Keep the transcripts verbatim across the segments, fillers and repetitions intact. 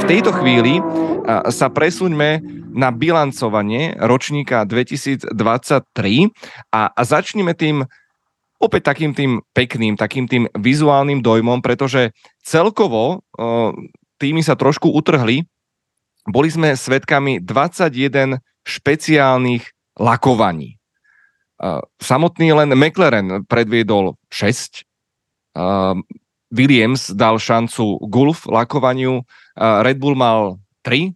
tejto chvíli sa presuňme na bilancovanie ročníka dvetisícdvadsaťtri a, a začneme tým opäť takým tým pekným, takým tým vizuálnym dojmom, pretože celkovo týmy sa trošku utrhli. Boli sme svedkami dvadsaťjeden špeciálnych lakovaní. Samotný len McLaren predviedol šesť, Williams dal šancu Gulf lakovaniu, Red Bull mal tri,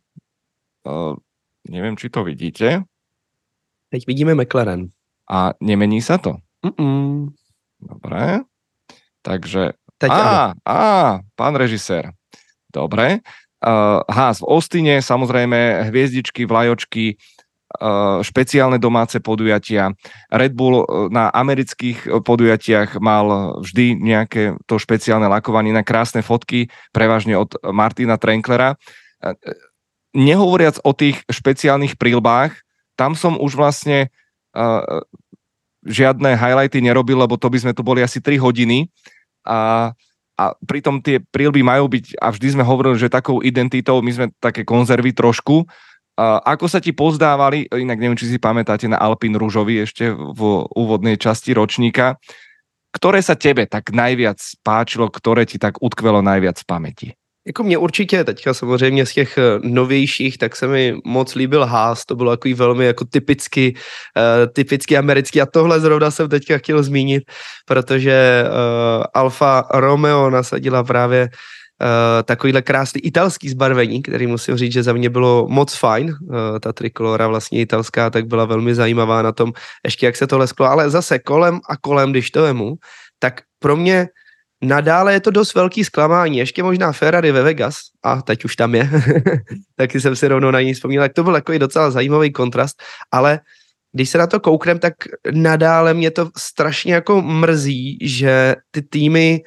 neviem, či to vidíte. Teď vidíme McLaren. A nemení sa to? Mm-mm. Dobre. Takže... Teď á, á, pán režisér. Dobre. Uh, Haas v Austine, samozrejme hviezdičky, vlajočky, uh, špeciálne domáce podujatia. Red Bull na amerických podujatiach mal vždy nejaké to špeciálne lakovanie na krásne fotky, prevažne od Martina Trenklera. Uh, nehovoriac o tých špeciálnych príľbách, tam som už vlastne uh, žiadne highlighty nerobil, lebo to by sme tu boli asi tri hodiny a, a pritom tie príľby majú byť, a vždy sme hovorili, že takou identitou, my sme také konzervy trošku. A ako sa ti pozdávali, inak neviem, či si pamätáte na Alpine Ružovi ešte v úvodnej časti ročníka, ktoré sa tebe tak najviac páčilo, ktoré ti tak utkvelo najviac v pamäti? Jako mě určitě, teďka samozřejmě z těch novějších, tak se mi moc líbil Haas, to bylo takový velmi jako typicky, uh, typicky americký a tohle zrovna jsem teďka chtěl zmínit, protože uh, Alfa Romeo nasadila právě uh, takovýhle krásný italský zbarvení, který musím říct, že za mě bylo moc fajn, uh, ta trikolora vlastně italská, tak byla velmi zajímavá na tom, ještě jak se to lesklo, ale zase kolem a kolem, když to vemu, tak pro mě nadále je to dost velký zklamání. Ještě možná Ferrari ve Vegas, a teď už tam je, taky jsem si rovnou na ní vzpomněl, tak to byl takový docela zajímavý kontrast, ale když se na to kouknem, tak nadále mě to strašně jako mrzí, že ty týmy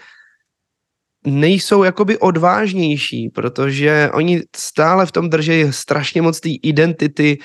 nejsou jakoby odvážnější, protože oni stále v tom drží strašně moc té identity,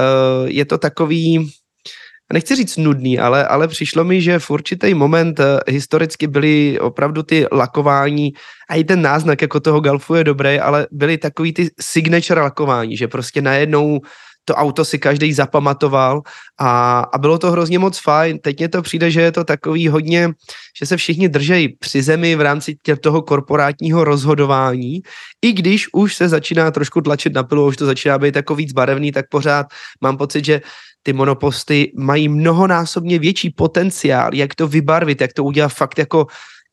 je to takový... Nechci říct nudný, ale, ale přišlo mi, že v určitý moment historicky byly opravdu ty lakování a i ten náznak jako toho Golfu je dobrý, ale byly takový ty signature lakování, že prostě najednou to auto si každý zapamatoval a, a bylo to hrozně moc fajn. Teď mně to přijde, že je to takový hodně, že se všichni držejí při zemi v rámci tě, toho korporátního rozhodování. I když už se začíná trošku tlačit na pilu, už to začíná být jako víc barevný, tak pořád mám pocit, že ty monoposty mají mnohonásobně větší potenciál, jak to vybarvit, jak to udělat fakt jako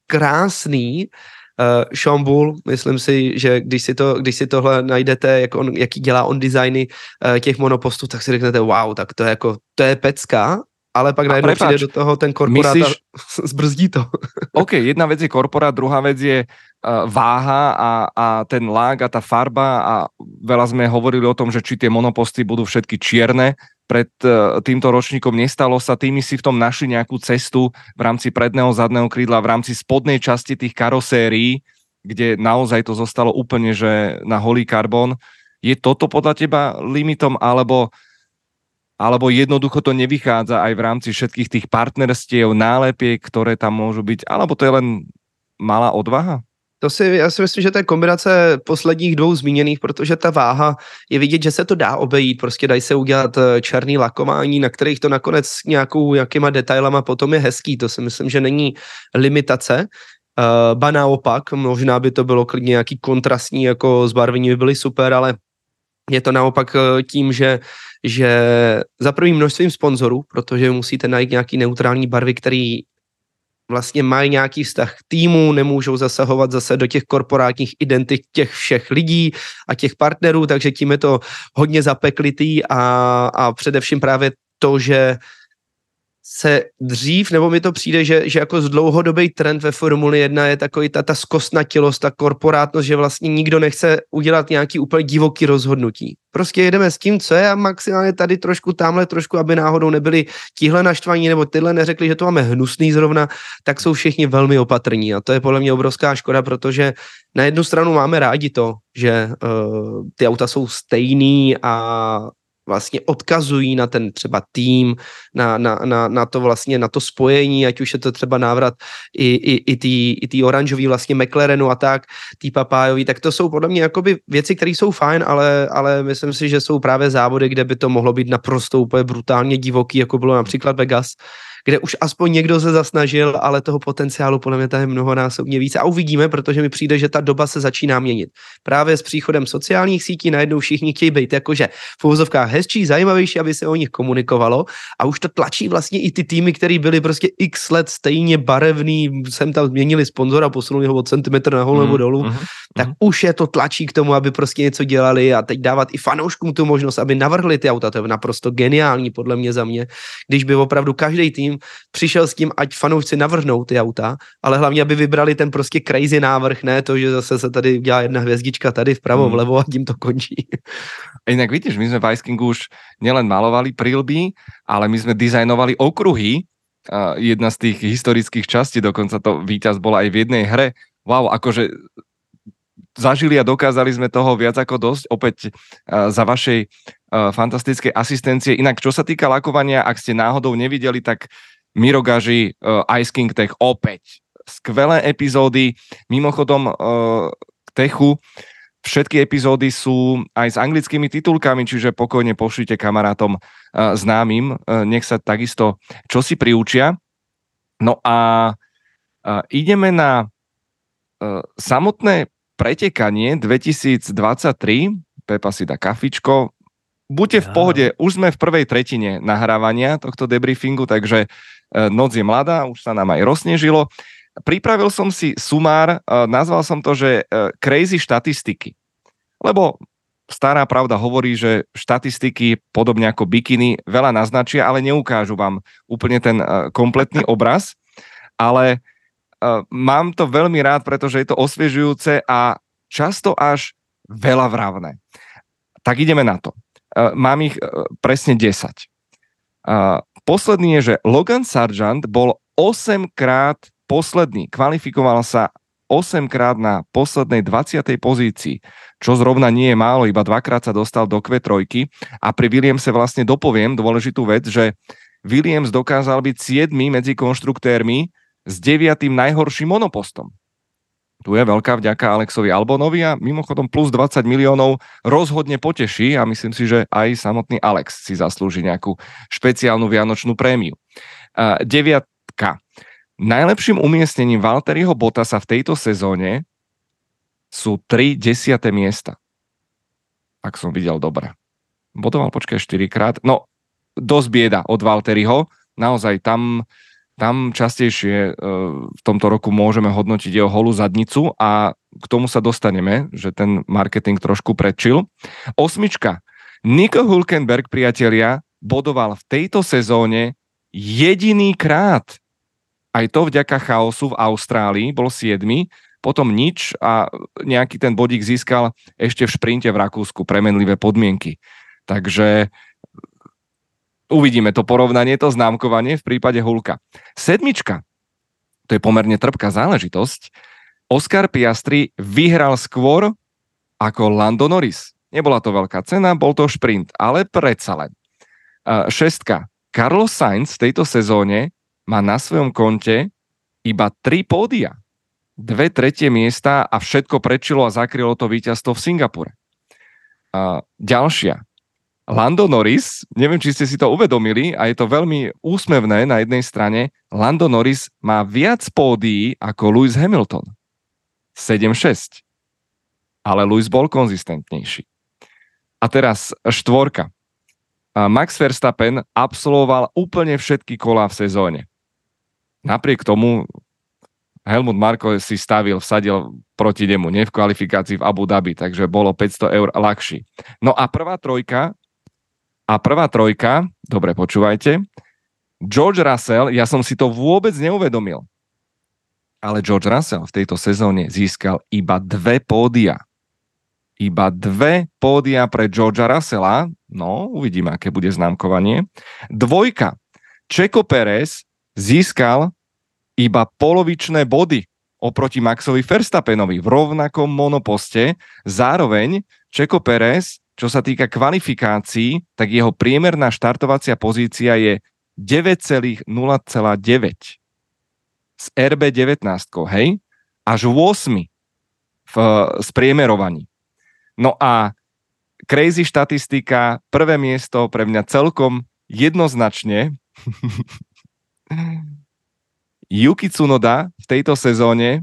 krásný. Uh, Sean Bull, myslím si, že když si, to, když si tohle najdete, jak on, jaký dělá on designy uh, těch monopostů, tak si řeknete, wow, tak to je jako, to je pecka, ale pak najednou přijde do toho ten korporát myslíš... a zbrzdí to. OK, jedna vec je korporát, druhá vec je uh, váha a, a ten lák a tá farba a veľa sme hovorili o tom, že či tie monoposty budú všetky čierne. Pred uh, týmto ročníkom nestalo sa, tými si v tom našli nejakú cestu v rámci predného zadného krídla, v rámci spodnej časti tých karosérií, kde naozaj to zostalo úplne, že na holý karbon. Je toto podľa teba limitom, alebo, alebo jednoducho to nevychádza aj v rámci všetkých tých partnerstiev, nálepiek, ktoré tam môžu byť, alebo to je len malá odvaha? To si, já si myslím, že to je kombinace posledních dvou zmíněných, protože ta váha je vidět, že se to dá obejít, prostě dají se udělat černý lakování, na kterých to nakonec nějakou, nějakýma detailama potom je hezký, to si myslím, že není limitace, uh, ba naopak, možná by to bylo klidně nějaký kontrastní jako zbarvení by byly super, ale je to naopak tím, že, že za prvým množstvím sponzorů, protože musíte najít nějaký neutrální barvy, který vlastně mají nějaký vztah k týmu, nemůžou zasahovat zase do těch korporátních identit těch všech lidí a těch partnerů, takže tím je to hodně zapeklitý a, a především právě to, že se dřív, nebo mi to přijde, že, že jako z dlouhodobý trend ve Formuli jedna je takový ta, ta zkostnatilost, ta korporátnost, že vlastně nikdo nechce udělat nějaký úplně divoký rozhodnutí. Prostě jedeme s tím, co je a maximálně tady trošku, tamhle trošku, aby náhodou nebyli tihle naštvaní nebo tyhle neřekli, že to máme hnusný zrovna, tak jsou všichni velmi opatrní a to je podle mě obrovská škoda, protože na jednu stranu máme rádi to, že uh, ty auta jsou stejný a vlastně odkazují na ten třeba tým, na, na, na, na to vlastně, na to spojení, ať už je to třeba návrat i, i, i tý, i tý oranžový vlastně McLarenu a tak, tý Papájový, tak to jsou podle mě jakoby věci, které jsou fajn, ale, ale myslím si, že jsou právě závody, kde by to mohlo být naprosto úplně brutálně divoký, jako bylo například Vegas, kde už aspoň někdo se zasnažil, ale toho potenciálu podle mě tady je mnohonásobně víc. A uvidíme, protože mi přijde, že ta doba se začíná měnit. Právě s příchodem sociálních sítí najednou všichni chtějí být jakože v uvozovkách hezčí, zajímavější, aby se o nich komunikovalo a už to tlačí vlastně i ty týmy, které byly prostě x let stejně barevný, sem tam změnili sponzora, posunuli ho od centimetr nahoru nebo dolů, mm, mm, tak mm. už je to tlačí k tomu, aby prostě něco dělali a teď dávat i fanouškům tu možnost, aby navrhli ty auta. To je naprosto geniální podle mě za mě, když by opravdu každý tým přišel s tím, ať fanoušci navrhnou ty auta, ale hlavně, aby vybrali ten prostě crazy návrh, ne to, že zase se tady dělá jedna hvězdička tady vpravo, hmm. vlevo a tím to končí. Inak vidíš, my sme v Ice Kingu už nielen malovali prilby, ale my sme dizajnovali okruhy. Uh, jedna z tých historických častí, dokonca to víťaz bola aj v jednej hre. Wow, akože zažili a dokázali sme toho viac ako dosť, opäť uh, za vašej uh, fantastickej asistencie. Inak, čo sa týka lakovania, ak ste náhodou nevideli, tak Miro Gaži, uh, Ice King Tech, opäť skvelé epizódy. Mimochodom uh, k Techu všetky epizódy sú aj s anglickými titulkami, čiže pokojne pošlite kamarátom uh, známym, uh, nech sa takisto čosi priučia. No a uh, ideme na uh, samotné pretekanie dvetisícdvadsaťtri. Pepa si dá kafičko. Buďte v pohode, už sme v prvej tretine nahrávania tohto debriefingu, takže uh, noc je mladá, už sa nám aj rozsnežilo. Pripravil som si sumár, uh, nazval som to, že uh, crazy štatistiky. Lebo stará pravda hovorí, že štatistiky, podobne ako bikiny, veľa naznačia, ale neukážu vám úplne ten uh, kompletný obraz. Ale uh, mám to veľmi rád, pretože je to osviežujúce a často až veľa vravné. Tak ideme na to. Uh, mám ich uh, presne desať. Uh, posledný je, že Logan Sargent bol osemkrát posledný. Kvalifikoval sa osemkrát na poslednej dvadsiatej pozícii, čo zrovna nie je málo, iba dvakrát sa dostal do kvé tri a pri Williamse vlastne dopoviem dôležitú vec, že Williams dokázal byť siedmy medzi konštruktérmi s deviatým najhorším monopostom. Tu je veľká vďaka Alexovi Albonovi a mimochodom plus dvadsať miliónov rozhodne poteší a myslím si, že aj samotný Alex si zaslúži nejakú špeciálnu vianočnú prémiu. Uh, deviatka. Najlepším umiestnením Valtteriho Bottasa v tejto sezóne sú tri desiate miesta. Ak som videl dobre. Bodoval, počkaj, štyrikrát. No, dosť bieda od Valtteriho. Naozaj tam, tam častejšie e, v tomto roku môžeme hodnotiť jeho holú zadnicu a k tomu sa dostaneme, že ten marketing trošku predčil. Osmička. Nico Hülkenberg, priatelia, bodoval v tejto sezóne jediný krát. Aj to vďaka chaosu v Austrálii, bol siedmy, potom nič a nejaký ten bodík získal ešte v šprinte v Rakúsku, premenlivé podmienky. Takže uvidíme to porovnanie, to známkovanie v prípade Hulka. Sedmička, to je pomerne trpká záležitosť. Oscar Piastri vyhral skôr ako Lando Norris. Nebola to veľká cena, bol to šprint, ale predsa len. Šestka, Carlos Sainz v tejto sezóne má na svojom konte iba tri pódia. Dve tretie miesta a všetko prečilo a zakrylo to víťazstvo v Singapure. A ďalšia. Lando Norris, neviem, či ste si to uvedomili, a je to veľmi úsmevné na jednej strane, Lando Norris má viac pódií ako Lewis Hamilton. sedem šesť. Ale Lewis bol konzistentnejší. A teraz štvorka. Max Verstappen absolvoval úplne všetky kolá v sezóne. Napriek tomu Helmut Marko si stavil, vsadil proti nemu, nie v kvalifikácii v Abu Dhabi, takže bolo päťsto eur ľahší. No a prvá trojka, a prvá trojka, dobre počúvajte, George Russell, ja som si to vôbec neuvedomil, ale George Russell v tejto sezóne získal iba dve pódia. Iba dve pódia pre Georgea Russella, no uvidíme, aké bude známkovanie. Dvojka, Checo Perez získal iba polovičné body oproti Maxovi Verstappenovi v rovnakom monoposte. Zároveň Checo Perez čo sa týka kvalifikácií, tak jeho priemerná štartovacia pozícia je deväť celá nula deväť z er bé devätnásť, hej? Až osem v spriemerovaní. No a crazy štatistika, prvé miesto pre mňa celkom jednoznačne Yuki Tsunoda v tejto sezóne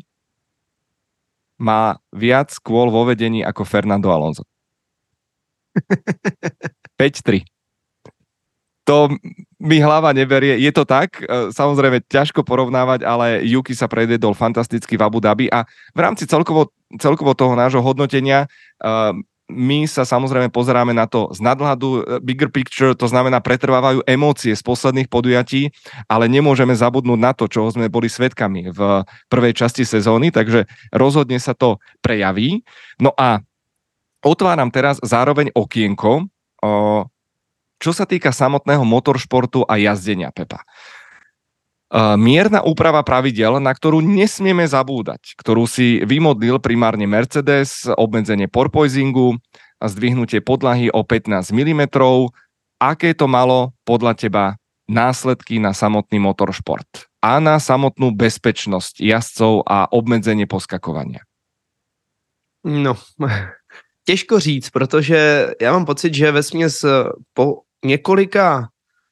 má viac kôl vo vedení ako Fernando Alonso. päť tri. To mi hlava neberie. Je to tak, samozrejme ťažko porovnávať, ale Yuki sa predvedol fantasticky v Abu Dhabi a v rámci celkovo, celkovo toho nášho hodnotenia uh, my sa samozrejme pozeráme na to z nadhľadu bigger picture, to znamená pretrvávajú emócie z posledných podujatí, ale nemôžeme zabudnúť na to, čoho sme boli svedkami v prvej časti sezóny, takže rozhodne sa to prejaví. No a otváram teraz zároveň okienko, uh, čo sa týka samotného motoršportu a jazdenia, Pepa. Mierna úprava pravidel, na ktorú nesmieme zabúdať, ktorú si vymodlil primárne Mercedes, obmedzenie porpoisingu, zdvihnutie podlahy o pätnásť milimetrov. Aké to malo podľa teba následky na samotný motoršport a na samotnú bezpečnosť jazdcov a obmedzenie poskakovania? No, těžko říct, protože já mám pocit, že vesměs po několika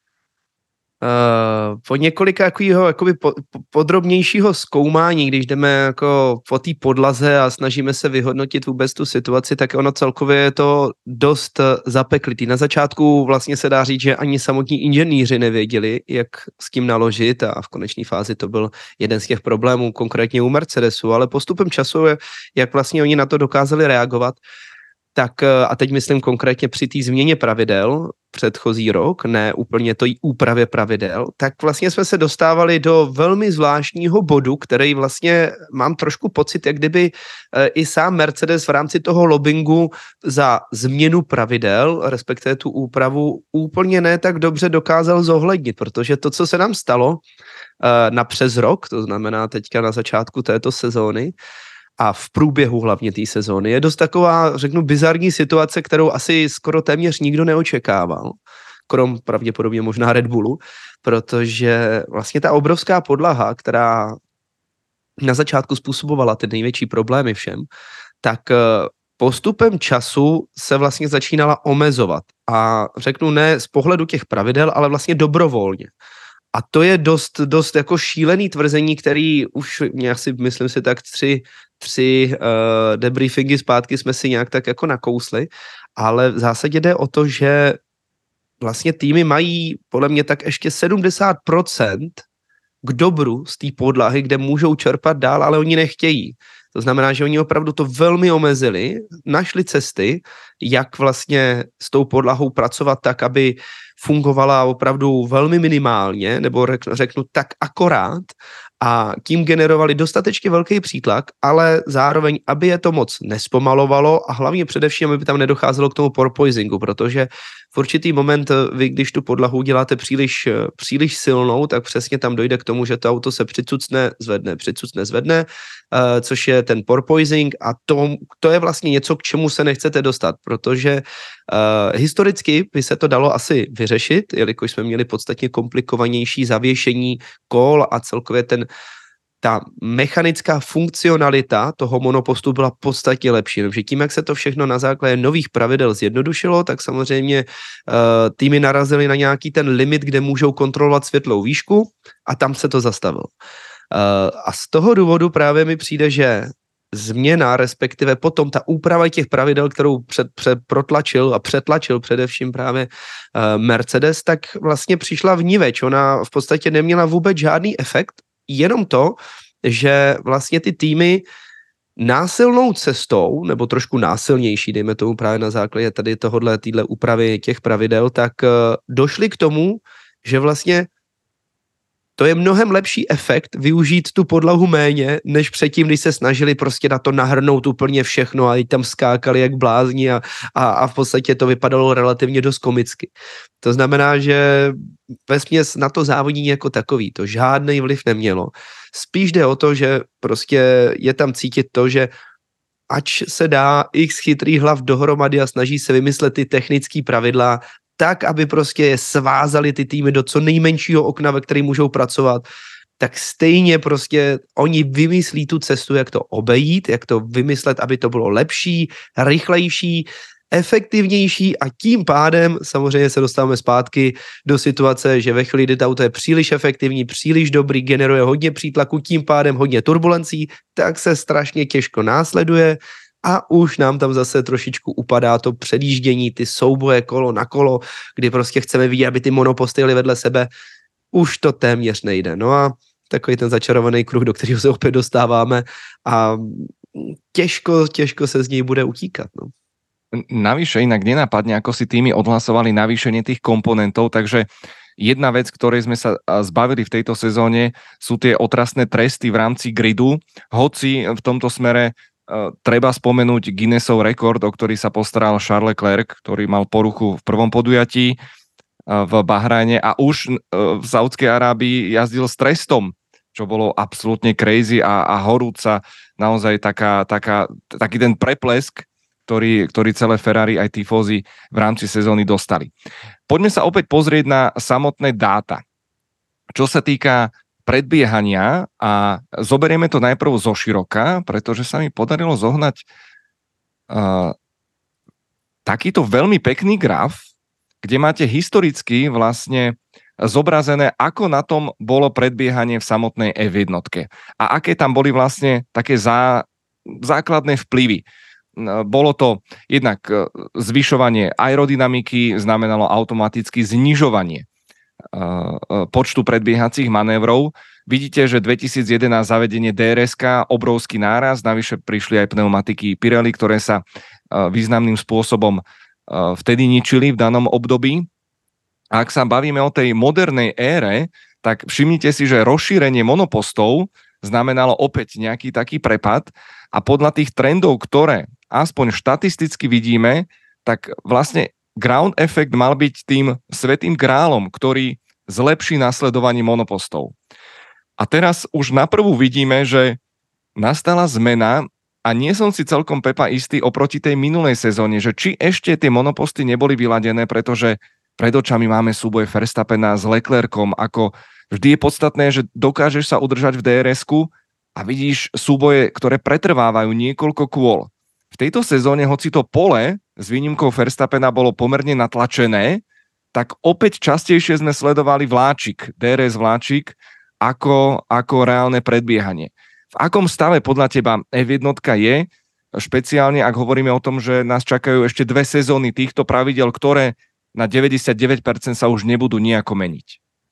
Uh, po několika jakýho, jakoby po, po, podrobnějšího zkoumání, když jdeme jako po té podlaze a snažíme se vyhodnotit vůbec tu situaci, tak ono celkově je to dost zapeklitý. Na začátku vlastně se dá říct, že ani samotní inženýři nevěděli, jak s tím naložit a v konečné fázi to byl jeden z těch problémů, konkrétně u Mercedesu, ale postupem času, jak vlastně oni na to dokázali reagovat, tak a teď myslím konkrétně při té změně pravidel předchozí rok, ne úplně to úpravě pravidel, tak vlastně jsme se dostávali do velmi zvláštního bodu, který vlastně mám trošku pocit, jak kdyby i sám Mercedes v rámci toho lobbingu za změnu pravidel, respektive tu úpravu, úplně ne tak dobře dokázal zohlednit, protože to, co se nám stalo na přes rok, to znamená teďka na začátku této sezóny, a v průběhu hlavně té sezóny je dost taková, řeknu, bizarní situace, kterou asi skoro téměř nikdo neočekával, krom pravděpodobně možná Red Bullu, protože vlastně ta obrovská podlaha, která na začátku způsobovala ty největší problémy všem, tak postupem času se vlastně začínala omezovat. A řeknu ne z pohledu těch pravidel, ale vlastně dobrovolně. A to je dost, dost jako šílený tvrzení, který už nějak si, myslím si tak tři, tři uh, debriefingy zpátky jsme si nějak tak jako nakousli, ale v zásadě jde o to, že vlastně týmy mají podle mě tak ještě sedmdesát procent k dobru z té podlahy, kde můžou čerpat dál, ale oni nechtějí. To znamená, že oni opravdu to velmi omezili, našli cesty, jak vlastně s tou podlahou pracovat tak, aby fungovala opravdu velmi minimálně, nebo řeknu tak akorát, a tím generovali dostatečně velký přítlak, ale zároveň, aby je to moc nespomalovalo a hlavně především, aby tam nedocházelo k tomu porpoisingu, protože v určitý moment vy, když tu podlahu uděláte příliš, příliš silnou, tak přesně tam dojde k tomu, že to auto se přicucne, zvedne, přicucne, zvedne, uh, což je ten porpoising a to, to je vlastně něco, k čemu se nechcete dostat, protože uh, historicky by se to dalo asi vyřešit, jelikož jsme měli podstatně komplikovanější zavěšení kol a celkově ten ta mechanická funkcionalita toho monopostu byla podstatně lepší. Takže tím, jak se to všechno na základě nových pravidel zjednodušilo, tak samozřejmě uh, týmy narazily na nějaký ten limit, kde můžou kontrolovat světlou výšku a tam se to zastavilo. Uh, a z toho důvodu právě mi přijde, že změna, respektive potom ta úprava těch pravidel, kterou před, před, protlačil a přetlačil především právě uh, Mercedes, tak vlastně přišla vniveč. Ona v podstatě neměla vůbec žádný efekt, jenom to, že vlastně ty týmy násilnou cestou, nebo trošku násilnější, dejme tomu právě na základě tady tohodle, týhle úpravy těch pravidel, tak uh, došli k tomu, že vlastně to je mnohem lepší efekt využít tu podlahu méně, než předtím, když se snažili prostě na to nahrnout úplně všechno a i tam skákali jak blázni a, a, a v podstatě to vypadalo relativně dost komicky. To znamená, že vesměs na to závodění jako takový to žádný vliv nemělo. Spíš jde o to, že prostě je tam cítit to, že ač se dá x chytrých hlav dohromady a snaží se vymyslet ty technické pravidla, tak, aby prostě svázali ty týmy do co nejmenšího okna, ve kterém můžou pracovat, tak stejně prostě oni vymyslí tu cestu, jak to obejít, jak to vymyslet, aby to bylo lepší, rychlejší, efektivnější a tím pádem samozřejmě se dostáváme zpátky do situace, že ve chvíli, kdy to auto je příliš efektivní, příliš dobrý, generuje hodně přítlaku, tím pádem hodně turbulencí, tak se strašně těžko následuje a už nám tam zase trošičku upadá to předjíždění, ty souboje kolo na kolo, kdy prostě chceme vidět, aby ty monoposty jeli vedle sebe. Už to téměř nejde. No a takový ten začarovaný kruh, do kterého se opět dostáváme a těžko, těžko se z něj bude utíkat. No. Navyše inak nenapadne, ako si týmy odhlasovali navýšenie tých komponentov, takže jedna vec, ktorej sme sa zbavili v tejto sezóne, sú tie otrasné tresty v rámci gridu, hoci v tomto smere uh, treba spomenúť Guinnessov rekord, o ktorý sa postaral Charles Leclerc, ktorý mal poruchu v prvom podujatí uh, v Bahrajne a už uh, v Saudskej Arábii jazdil s trestom, čo bolo absolútne crazy a, a horúca naozaj taká, taká, taký ten preplesk, Ktorý, ktorý celé Ferrari aj tifózy v rámci sezóny dostali. Poďme sa opäť pozrieť na samotné dáta. Čo sa týka predbiehania a zoberieme to najprv zo široka, pretože sa mi podarilo zohnať uh, takýto veľmi pekný graf, kde máte historicky vlastne zobrazené, ako na tom bolo predbiehanie v samotnej ef jedna a aké tam boli vlastne také zá, základné vplyvy. Bolo to jednak zvyšovanie aerodynamiky, znamenalo automaticky znižovanie počtu predbiehacích manévrov. Vidíte, že dvetisíc jedenásť zavedenie dé er eska, obrovský náraz, navyše prišli aj pneumatiky Pirelli, ktoré sa významným spôsobom vtedy ničili v danom období. A ak sa bavíme o tej modernej ére, tak všimnite si, že rozšírenie monopostov znamenalo opäť nejaký taký prepad a podľa tých trendov, ktoré aspoň štatisticky vidíme, tak vlastne ground effect mal byť tým svätým grálom, ktorý zlepší nasledovanie monopostov. A teraz už naprvu vidíme, že nastala zmena a nie som si celkom, Pepa, istý oproti tej minulej sezóne, že či ešte tie monoposty neboli vyladené, pretože pred očami máme súboj Verstappena s Leclercom, ako vždy je podstatné, že dokážeš sa udržať v dé er esku a vidíš súboje, ktoré pretrvávajú niekoľko kôl. V tejto sezóne, hoci to pole s výnimkou Verstappena bolo pomerne natlačené, tak opäť častejšie sme sledovali vláčik, dé er es vláčik, ako, ako reálne predbiehanie. V akom stave podľa teba ef jedna je, špeciálne ak hovoríme o tom, že nás čakajú ešte dve sezóny týchto pravidel, ktoré na deväťdesiatdeväť percent sa už nebudú nejako meniť?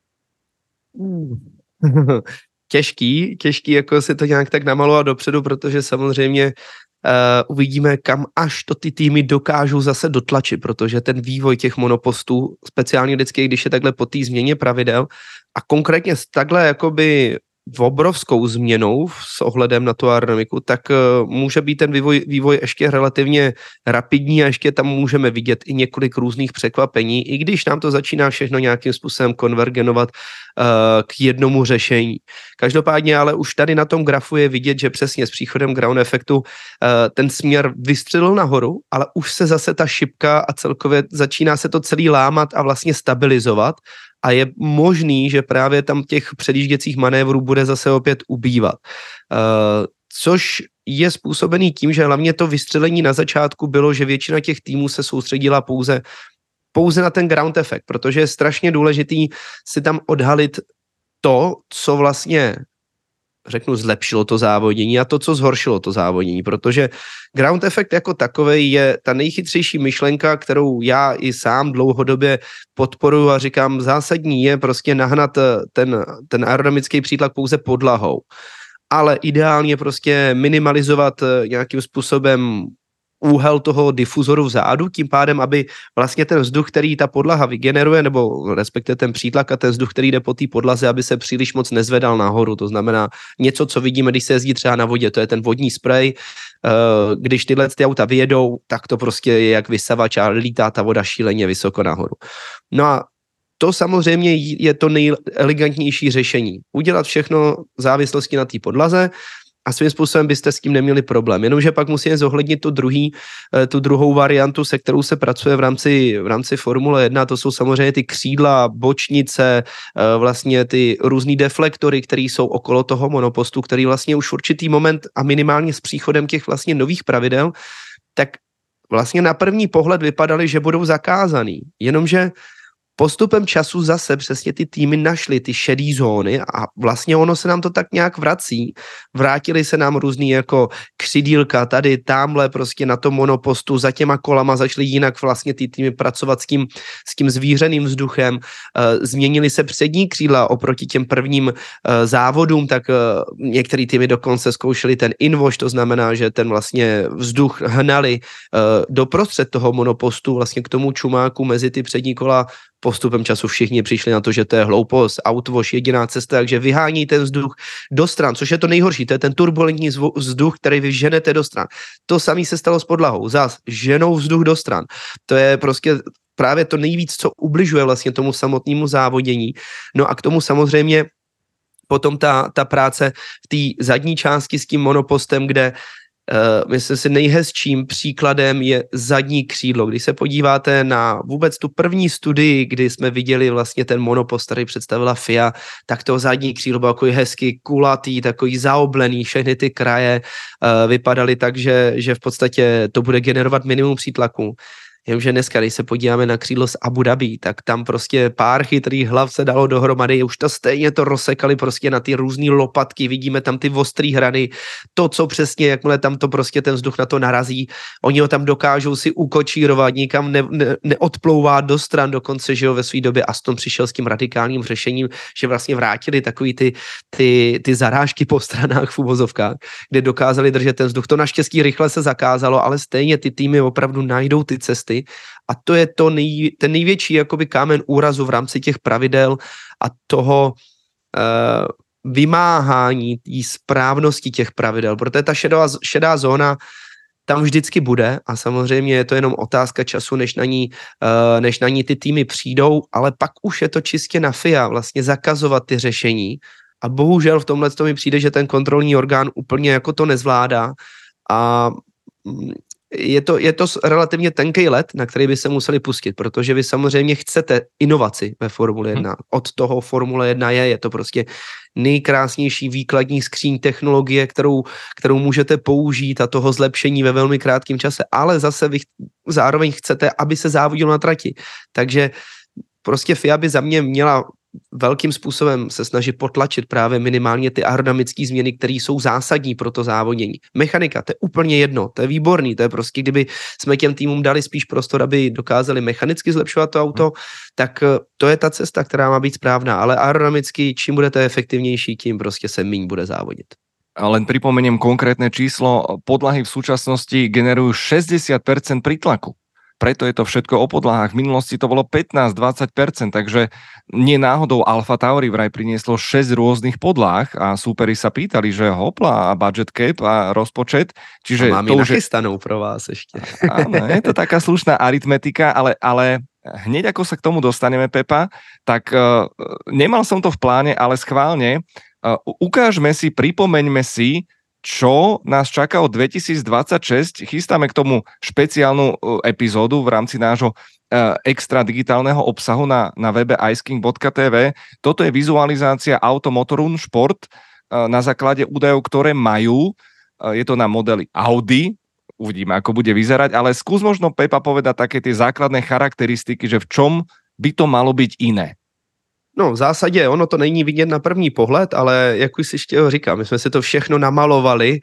Těžký, těžký jako si to nějak tak namalovat dopředu, protože samozřejmě Uh, uvidíme, kam až to ty týmy dokážou zase dotlačit, protože ten vývoj těch monopostů, speciálně vždycky, když je takhle po té změně pravidel a konkrétně s takhle jakoby v obrovskou změnou s ohledem na tu aerodynamiku, tak uh, může být ten vývoj, vývoj ještě relativně rapidní a ještě tam můžeme vidět i několik různých překvapení, i když nám to začíná všechno nějakým způsobem konvergenovat uh, k jednomu řešení. Každopádně ale už tady na tom grafu je vidět, že přesně s příchodem ground effectu uh, ten směr vystřelil nahoru, ale už se zase ta šipka a celkově začíná se to celý lámat a vlastně stabilizovat. A je možný, že právě tam těch předjížděcích manévrů bude zase opět ubývat. Uh, což je způsobený tím, že hlavně to vystřelení na začátku bylo, že většina těch týmů se soustředila pouze, pouze na ten ground effect, protože je strašně důležitý si tam odhalit to, co vlastně řeknu, zlepšilo to závodění a to, co zhoršilo to závodění, protože ground effect jako takovej je ta nejchytřejší myšlenka, kterou já i sám dlouhodobě podporuji a říkám, zásadní je prostě nahnat ten, ten aerodynamický přítlak pouze podlahou, ale ideálně prostě minimalizovat nějakým způsobem úhel toho difuzoru vzadu, tím pádem, aby vlastně ten vzduch, který ta podlaha vygeneruje, nebo respektive ten přítlak a ten vzduch, který jde po té podlaze, aby se příliš moc nezvedal nahoru. To znamená něco, co vidíme, když se jezdí třeba na vodě, to je ten vodní sprej. Když tyhle ty auta vyjedou, tak to prostě je jak vysavač a lítá ta voda šíleně vysoko nahoru. No a to samozřejmě je to nejelegantnější řešení. Udělat všechno v závislosti na té podlaze a svým způsobem byste s tím neměli problém. Jenomže pak musíme zohlednit tu, druhý, tu druhou variantu, se kterou se pracuje v rámci, v rámci Formule jedna, to jsou samozřejmě ty křídla, bočnice, vlastně ty různý deflektory, které jsou okolo toho monopostu, který vlastně už v určitý moment a minimálně s příchodem těch vlastně nových pravidel, tak vlastně na první pohled vypadaly, že budou zakázaný. Jenomže postupem času zase přesně ty týmy našly ty šedý zóny a vlastně ono se nám to tak nějak vrací. Vrátili se nám různý jako křidílka tady, tamhle prostě na tom monopostu za těma kolama začaly jinak vlastně ty týmy pracovat s tím, s tím zvířeným vzduchem. E, změnily se přední křídla oproti těm prvním e, závodům, tak e, některý týmy dokonce zkoušeli ten inwash, to znamená, že ten vlastně vzduch hnali e, doprostřed toho monopostu vlastně k tomu čumáku mezi ty přední kola. Postupem času všichni přišli na to, že to je hloupost, outwash, jediná cesta, takže vyhání ten vzduch do stran, což je to nejhorší, to je ten turbulentní vzduch, který vy ženete do stran. To samé se stalo s podlahou, zas ženou vzduch do stran. To je prostě právě to nejvíc, co ubližuje vlastně tomu samotnému závodění. No a k tomu samozřejmě potom ta, ta práce v té zadní části s tím monopostem, kde Uh, myslím si, nejhezčím příkladem je zadní křídlo. Když se podíváte na vůbec tu první studii, kdy jsme viděli vlastně ten monopost, který představila F I A, tak to zadní křídlo bylo takový hezky kulatý, takový zaoblený, všechny ty kraje uh, vypadaly tak, že, že v podstatě to bude generovat minimum přítlaku. Jenomže dneska, když se podíváme na křídlo z Abu Dhabi, tak tam prostě pár chytrých hlav se dalo dohromady, už to stejně to rozsekali prostě na ty různý lopatky, vidíme tam ty ostrý hrany, to, co přesně, jakmile tam to prostě ten vzduch na to narazí, oni ho tam dokážou si ukočírovat, nikam ne, ne, neodplouvá do stran, dokonce, že jo, ve své době Aston přišel s tím radikálním řešením, že vlastně vrátili takový ty, ty, ty zarážky po stranách v uvozovkách, kde dokázali držet ten vzduch. To naštěstí rychle se zakázalo, ale stejně ty týmy opravdu najdou ty cesty. A to je to nej, ten největší jakoby kámen úrazu v rámci těch pravidel a toho uh, vymáhání té správnosti těch pravidel, protože ta šedá, šedá zóna tam vždycky bude a samozřejmě je to jenom otázka času, než na ní, uh, než na ní ty týmy přijdou, ale pak už je to čistě na F I A vlastně zakazovat ty řešení a bohužel v tomhle to mi přijde, že ten kontrolní orgán úplně jako to nezvládá a Je to, je to relativně tenký let, na který by se museli pustit, protože vy samozřejmě chcete inovaci ve Formule jedna. Od toho Formule jedna je, je to prostě nejkrásnější výkladní skříň technologie, kterou, kterou můžete použít a toho zlepšení ve velmi krátkém čase, ale zase vy zároveň chcete, aby se závodilo na trati. Takže prostě F I A by za mě měla velkým způsobem se snaží potlačit právě minimálně ty aerodynamické změny, které jsou zásadní pro to závodění. Mechanika, to je úplně jedno, to je výborný, to je prostě, kdyby jsme těm týmům dali spíš prostor, aby dokázali mechanicky zlepšovat to auto, tak to je ta cesta, která má být správná, ale aerodynamicky, čím budete efektivnější, tím prostě se míň bude závodit. Len pripomeniem konkrétne číslo, podlahy v súčasnosti generujú šesťdesiat percent prítlaku. Preto je to všetko o podlahách. V minulosti to bolo pätnásť až dvadsať percent, takže nie náhodou Alfa Tauri vraj prinieslo šesť rôznych podláh a súperi sa pýtali, že hopla a budget cap a rozpočet. Čiže a mám to ji už nachystanou pro vás ešte. Áno, je to taká slušná aritmetika, ale, ale hneď ako sa k tomu dostaneme, Pepa, tak uh, nemal som to v pláne, ale schválne uh, ukážme si, pripomeňme si, čo nás čaká od dvetisícdvadsaťšesť. Chystáme k tomu špeciálnu epizódu v rámci nášho extra digitálneho obsahu na, na webe iceking bodka té vé. Toto je vizualizácia Automotorun Sport na základe údajov, ktoré majú. Je to na modeli Audi. Uvidíme, ako bude vyzerať, ale skús možno, Pepa, povedať také tie základné charakteristiky, že v čom by to malo byť iné. No, v zásadě ono to není vidět na první pohled, ale jak už si ještě říkám, my jsme si to všechno namalovali,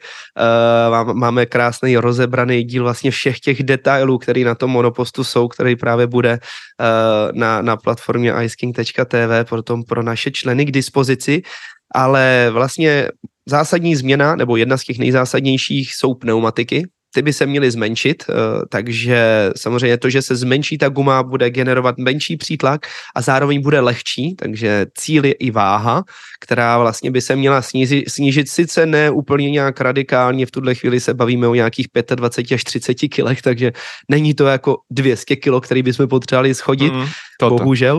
uh, máme krásný rozebraný díl vlastně všech těch detailů, který na tom monopostu jsou, který právě bude uh, na, na platformě iceking tečka té vé potom pro naše členy k dispozici, ale vlastně zásadní změna, nebo jedna z těch nejzásadnějších jsou pneumatiky. ty by se měly zmenšit, takže samozřejmě to, že se zmenší ta guma, bude generovat menší přítlak a zároveň bude lehčí, takže cíl je i váha, která vlastně by se měla snížit, snížit sice ne úplně nějak radikálně, v tuhle chvíli se bavíme o nějakých dvacet pět až třicet kilech, takže není to jako dvě stě kilo, který bychom potřebovali schodit, mm, bohužel,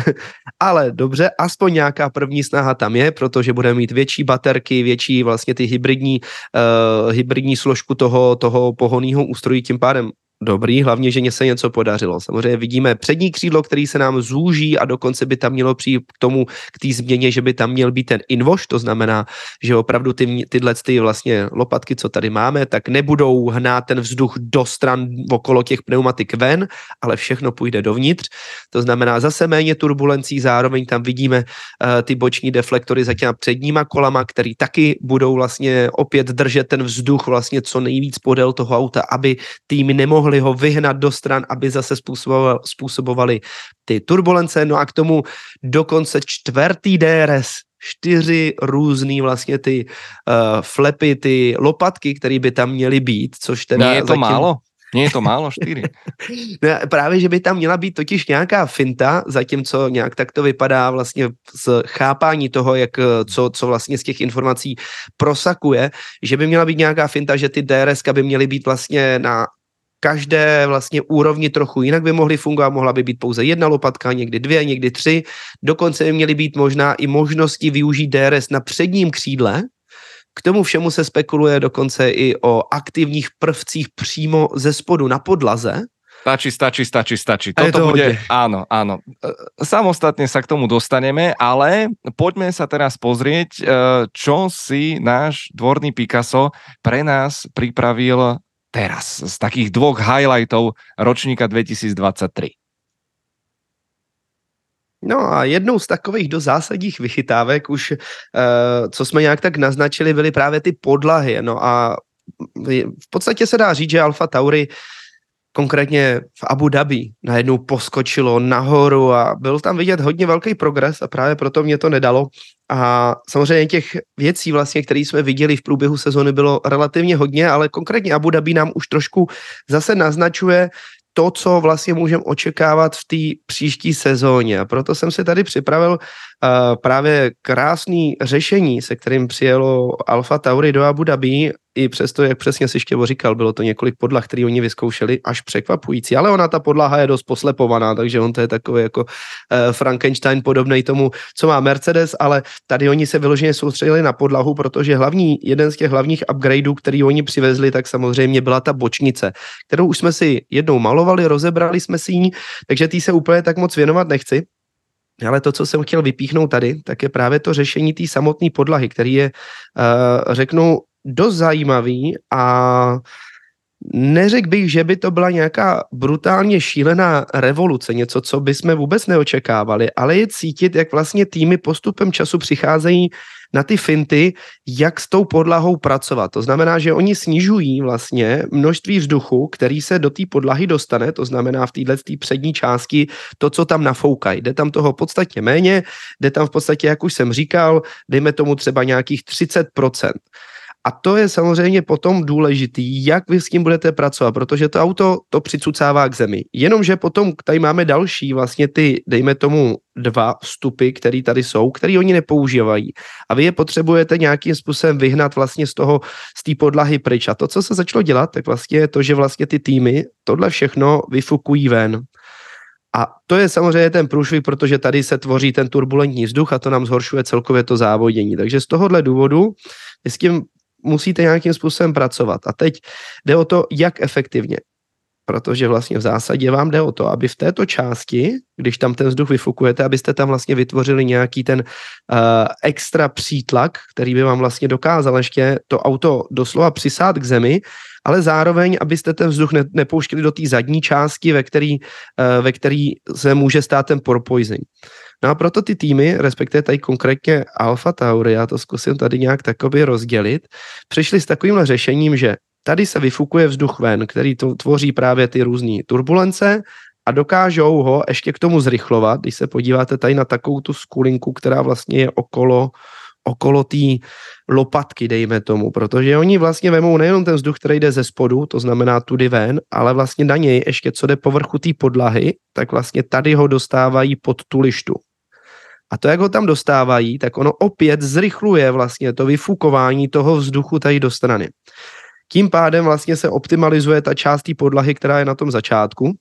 ale dobře, aspoň nějaká první snaha tam je, protože budeme mít větší baterky, větší vlastně ty hybridní, uh, hybridní složku toho, toho pohonného ústrojí, tím pádem dobrý, hlavně, že se něco podařilo. Samozřejmě vidíme přední křídlo, který se nám zúží a dokonce by tam mělo přijít k tomu, k té změně, že by tam měl být ten invoš, to znamená, že opravdu ty, tyhle ty vlastně lopatky, co tady máme, tak nebudou hnát ten vzduch do stran okolo těch pneumatik ven, ale všechno půjde dovnitř. To znamená zase méně turbulencí, zároveň tam vidíme uh, ty boční deflektory za těma předníma kolama, který taky budou vlastně opět držet ten vzduch vlastně co nejvíc podél toho auta, aby týmy nemohly ho vyhnat do stran, aby zase způsobovali, způsobovali ty turbulence. No a k tomu dokonce čtvrtý D R S, čtyři různý vlastně ty uh, flepy, ty lopatky, které by tam měly být, což teda... Nie je to zatím... málo? Nie je to málo, čtyři? No, právě, že by tam měla být totiž nějaká finta, zatímco nějak tak to vypadá vlastně z chápání toho, jak, co, co vlastně z těch informací prosakuje, že by měla být nějaká finta, že ty D R S by měly být vlastně na každé vlastně úrovni trochu jinak by mohly fungovat, mohla by být pouze jedna lopatka, někdy dvě, někdy tři, dokonce by měly být možná i možnosti využít D R S na předním křídle. K tomu všemu se spekuluje dokonce i o aktivních prvcích přímo ze spodu na podlaze. Stačí, stačí, stačí, stačí. Toto to bude, hodne. áno, áno. Samostatne sa k tomu dostaneme, ale poďme sa teraz pozrieť, čo si náš dvorný Picasso pre nás pripravil teraz z takých dvoch highlightov ročníka dvetisícdvadsaťtri. No a jednou z takových do zásadních vychytávek už, uh, co jsme nějak tak naznačili, byly právě ty podlahy. No a v podstatě se dá říct, že Alfa Tauri konkrétně v Abu Dhabi najednou poskočilo nahoru a byl tam vidět hodně velký progres a právě proto mě to nedalo. A samozřejmě těch věcí vlastně, které jsme viděli v průběhu sezony, bylo relativně hodně, ale konkrétně Abu Dhabi nám už trošku zase naznačuje to, co vlastně můžeme očekávat v té příští sezóně. A proto jsem si tady připravil uh, právě krásný řešení, se kterým přijelo Alfa Tauri do Abu Dhabi, i přesto, jak přesně si Štěvo říkal, bylo to několik podlah, které oni vyzkoušeli, až překvapující, ale ona ta podlaha je dost poslepovaná, takže on to je takový jako uh, Frankenstein podobnej tomu, co má Mercedes, ale tady oni se vyloženě soustředili na podlahu, protože hlavní, jeden z těch hlavních upgradeů, který oni přivezli, tak samozřejmě byla ta bočnice, kterou už jsme si jednou malovali, rozebrali jsme si ji, takže tý se úplně tak moc věnovat nechci. Ale to, co jsem chtěl vypíchnout tady, tak je právě to řešení té samotné podlahy, který je, uh, řeknu, dost zajímavý a neřekl bych, že by to byla nějaká brutálně šílená revoluce, něco, co bychom vůbec neočekávali, ale je cítit, jak vlastně týmy postupem času přicházejí na ty finty, jak s tou podlahou pracovat. To znamená, že oni snižují vlastně množství vzduchu, který se do té podlahy dostane, to znamená v této přední části to, co tam nafoukají. Jde tam toho podstatně méně, jde tam v podstatě, jak už jsem říkal, dejme tomu třeba nějakých třicet procent. A to je samozřejmě potom důležitý, jak vy s tím budete pracovat, protože to auto to přicucává k zemi. Jenomže potom tady máme další vlastně ty, dejme tomu, dva vstupy, které tady jsou, které oni nepoužívají. A vy je potřebujete nějakým způsobem vyhnat vlastně z toho, z té podlahy pryč. A to, co se začalo dělat, tak vlastně je to, že vlastně ty týmy tohle všechno vyfukují ven. A to je samozřejmě ten průšvih, protože tady se tvoří ten turbulentní vzduch a to nám zhoršuje celkově to závodění. Takže z tohohle důvodu s tím musíte nějakým způsobem pracovat. A teď jde o to, jak efektivně. Protože vlastně v zásadě vám jde o to, aby v této části, když tam ten vzduch vyfukujete, abyste tam vlastně vytvořili nějaký ten uh, extra přítlak, který by vám vlastně dokázal ještě to auto doslova přisát k zemi, ale zároveň, abyste ten vzduch ne, nepouštěli do té zadní části, ve který, uh, ve který se může stát ten porpoising. No a proto ty týmy, respektive tady konkrétně Alfa Tauri, já to zkusím tady nějak takoby rozdělit, přišli s takovýmhle řešením, že tady se vyfukuje vzduch ven, který to tvoří právě ty různé turbulence a dokážou ho ještě k tomu zrychlovat, když se podíváte tady na takovou tu skulinku, která vlastně je okolo, okolo té lopatky, dejme tomu, protože oni vlastně vemou nejenom ten vzduch, který jde ze spodu, to znamená tudy ven, ale vlastně na něj ještě co jde povrchu té podlahy, tak vlastně tady ho dostávají pod tu lištu. A to, jak ho tam dostávají, tak ono opět zrychluje vlastně to vyfukování toho vzduchu tady do strany. Tím pádem vlastně se optimalizuje ta část té podlahy, která je na tom začátku.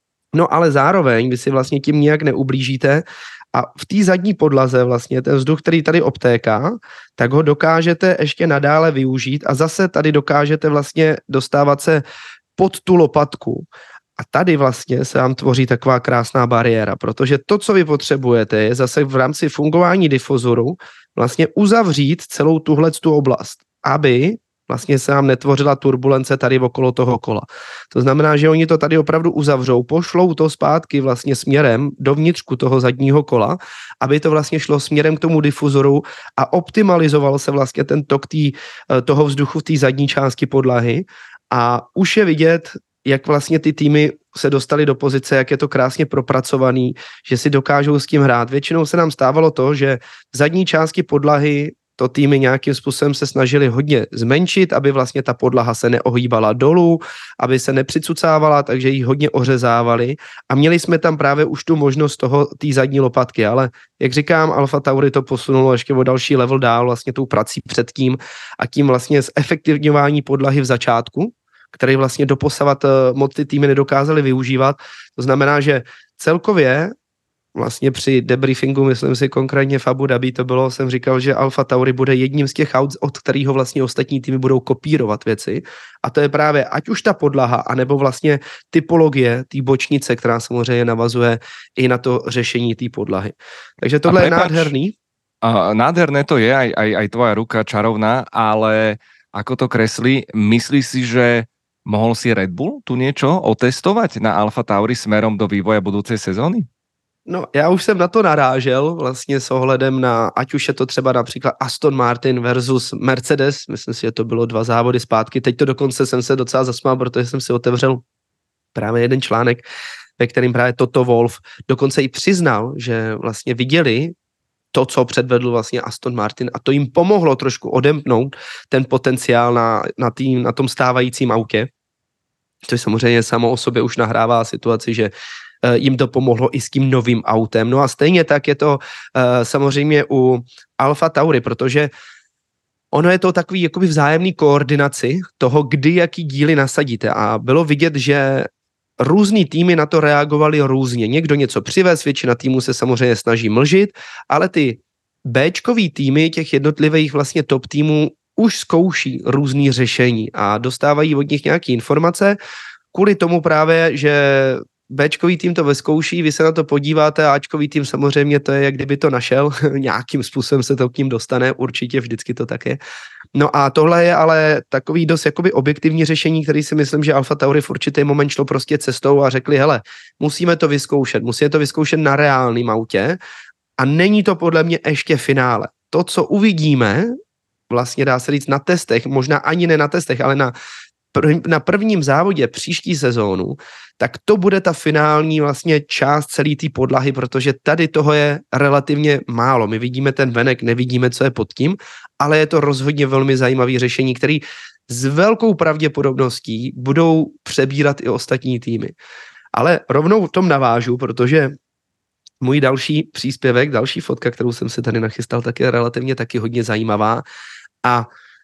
No ale zároveň vy si vlastně tím nijak neublížíte a v té zadní podlaze vlastně ten vzduch, který tady obtéká, tak ho dokážete ještě nadále využít a zase tady dokážete vlastně dostávat se pod tu lopatku. A tady vlastně se vám tvoří taková krásná bariéra, protože to, co vy potřebujete, je zase v rámci fungování difuzoru vlastně uzavřít celou tuhle tu oblast, aby vlastně se nám netvořila turbulence tady okolo toho kola. To znamená, že oni to tady opravdu uzavřou, pošlou to zpátky vlastně směrem do vnitřku toho zadního kola, aby to vlastně šlo směrem k tomu difuzoru a optimalizoval se vlastně ten tok tý, toho vzduchu v té zadní části podlahy a už je vidět, jak vlastně ty týmy se dostali do pozice, jak je to krásně propracovaný, že si dokážou s tím hrát. Většinou se nám stávalo to, že v zadní části podlahy to týmy nějakým způsobem se snažili hodně zmenšit, aby vlastně ta podlaha se neohýbala dolů, aby se nepřicucávala, takže ji hodně ořezávali a měli jsme tam právě už tu možnost toho, té zadní lopatky, ale jak říkám, Alfa Tauri to posunulo ještě o další level dál vlastně tou prací předtím a tím vlastně zefektivňování podlahy v začátku, který vlastně doposavat moc ty týmy nedokázali využívat. To znamená, že celkově vlastně při debriefingu, myslím si konkrétně v Abu Dhabi to bylo, jsem říkal, že Alfa Tauri bude jedním z těch aut, od kterého vlastně ostatní týmy budou kopírovat věci. A to je právě ať už ta podlaha, anebo vlastně typologie té bočnice, která samozřejmě navazuje i na to řešení té podlahy. Takže tohle je nádherný. Uh, nádherné to je, aj, aj, aj tvoja ruka čarovná, ale ako to kreslí, myslíš si, že mohol si Red Bull tu niečo otestovať na Alfa Tauri smerom do vývoja budúcej sezóny? No, já už jsem na to narážel vlastně s ohledem na, ať už je to třeba například Aston Martin versus Mercedes, myslím si, že to bylo dva závody zpátky, teď to dokonce jsem se docela zasmál, protože jsem si otevřel právě jeden článek, ve kterým právě Toto Wolff dokonce i přiznal, že vlastně viděli to, co předvedl vlastně Aston Martin a to jim pomohlo trošku odemknout ten potenciál na, na, tým, na tom stávajícím autě, což samozřejmě samo o sobě už nahrává situaci, že jim to pomohlo i s tím novým autem. No a stejně tak je to uh, samozřejmě u Alfa Tauri, protože ono je to takový jakoby vzájemný koordinaci toho, kdy jaký díly nasadíte a bylo vidět, že různý týmy na to reagovali různě. Někdo něco přivez, většina týmů se samozřejmě snaží mlžit, ale ty Bčkový týmy těch jednotlivých vlastně top týmů už zkouší různý řešení a dostávají od nich nějaké informace kvůli tomu právě, že Bčkový tým to vyzkouší, vy se na to podíváte a Ačkový tým samozřejmě to je, jak kdyby to našel, nějakým způsobem se to k ním dostane, určitě vždycky to tak je. No a tohle je ale takový dost jakoby objektivní řešení, který si myslím, že Alfa Tauri v určitý moment šlo prostě cestou a řekli, hele, musíme to vyzkoušet, musíme to vyzkoušet na reálném autě a není to podle mě ještě finále. To, co uvidíme, vlastně dá se říct na testech, možná ani ne na testech, ale na na prvním závodě příští sezónu, tak to bude ta finální vlastně část celé té podlahy, protože tady toho je relativně málo. My vidíme ten venek, nevidíme, co je pod tím, ale je to rozhodně velmi zajímavé řešení, který s velkou pravděpodobností budou přebírat i ostatní týmy. Ale rovnou v tom navážu, protože můj další příspěvek, další fotka, kterou jsem si tady nachystal, tak je relativně taky hodně zajímavá a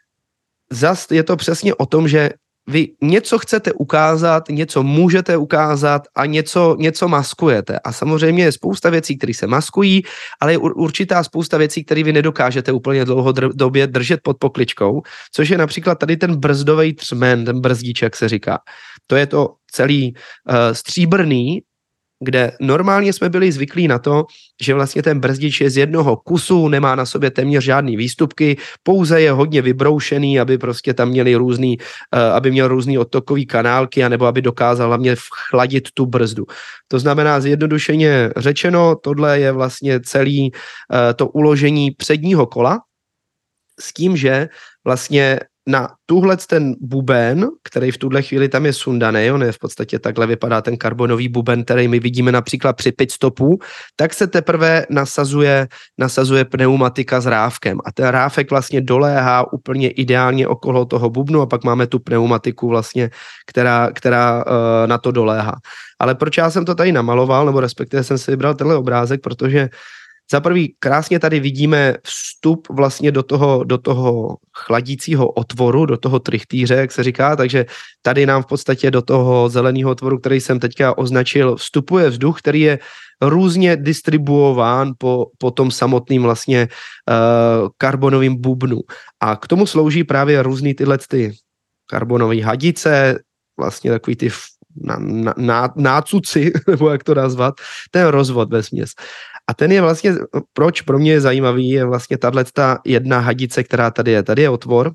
zas je to přesně o tom, že vy něco chcete ukázat, něco můžete ukázat a něco, něco maskujete. A samozřejmě je spousta věcí, které se maskují, ale je určitá spousta věcí, které vy nedokážete úplně dlouhodobě držet pod pokličkou, což je například tady ten brzdový třmen, ten brzdiček se říká. To je to celý uh, stříbrný, kde normálně jsme byli zvyklí na to, že vlastně ten brzdič je z jednoho kusu, nemá na sobě téměř žádný výstupky, pouze je hodně vybroušený, aby prostě tam měli různý, aby měl různý odtokový kanálky, anebo aby dokázal hlavně chladit tu brzdu. To znamená, zjednodušeně řečeno, tohle je vlastně celý to uložení předního kola s tím, že vlastně na tuhle ten buben, který v tuhle chvíli tam je sundaný, on je v podstatě takhle vypadá ten karbonový buben, který my vidíme například při pitstopu, tak se teprve nasazuje, nasazuje pneumatika s rávkem a ten rávek vlastně doléhá úplně ideálně okolo toho bubnu a pak máme tu pneumatiku vlastně, která, která uh, na to doléhá. Ale proč já jsem to tady namaloval, nebo respektive jsem si vybral tenhle obrázek, protože za prvý krásně tady vidíme vstup vlastně do toho, do toho chladícího otvoru, do toho trichtýře, jak se říká, takže tady nám v podstatě do toho zeleného otvoru, který jsem teďka označil, vstupuje vzduch, který je různě distribuován po, po tom samotným vlastně uh, karbonovým bubnu. A k tomu slouží právě různý tyhle ty karbonové hadice, vlastně takový ty na, na, na, nácuci, nebo jak to nazvat, ten rozvod vesměs. A ten je vlastně, proč pro mě je zajímavý, je vlastně tato jedna hadice, která tady je. Tady je otvor,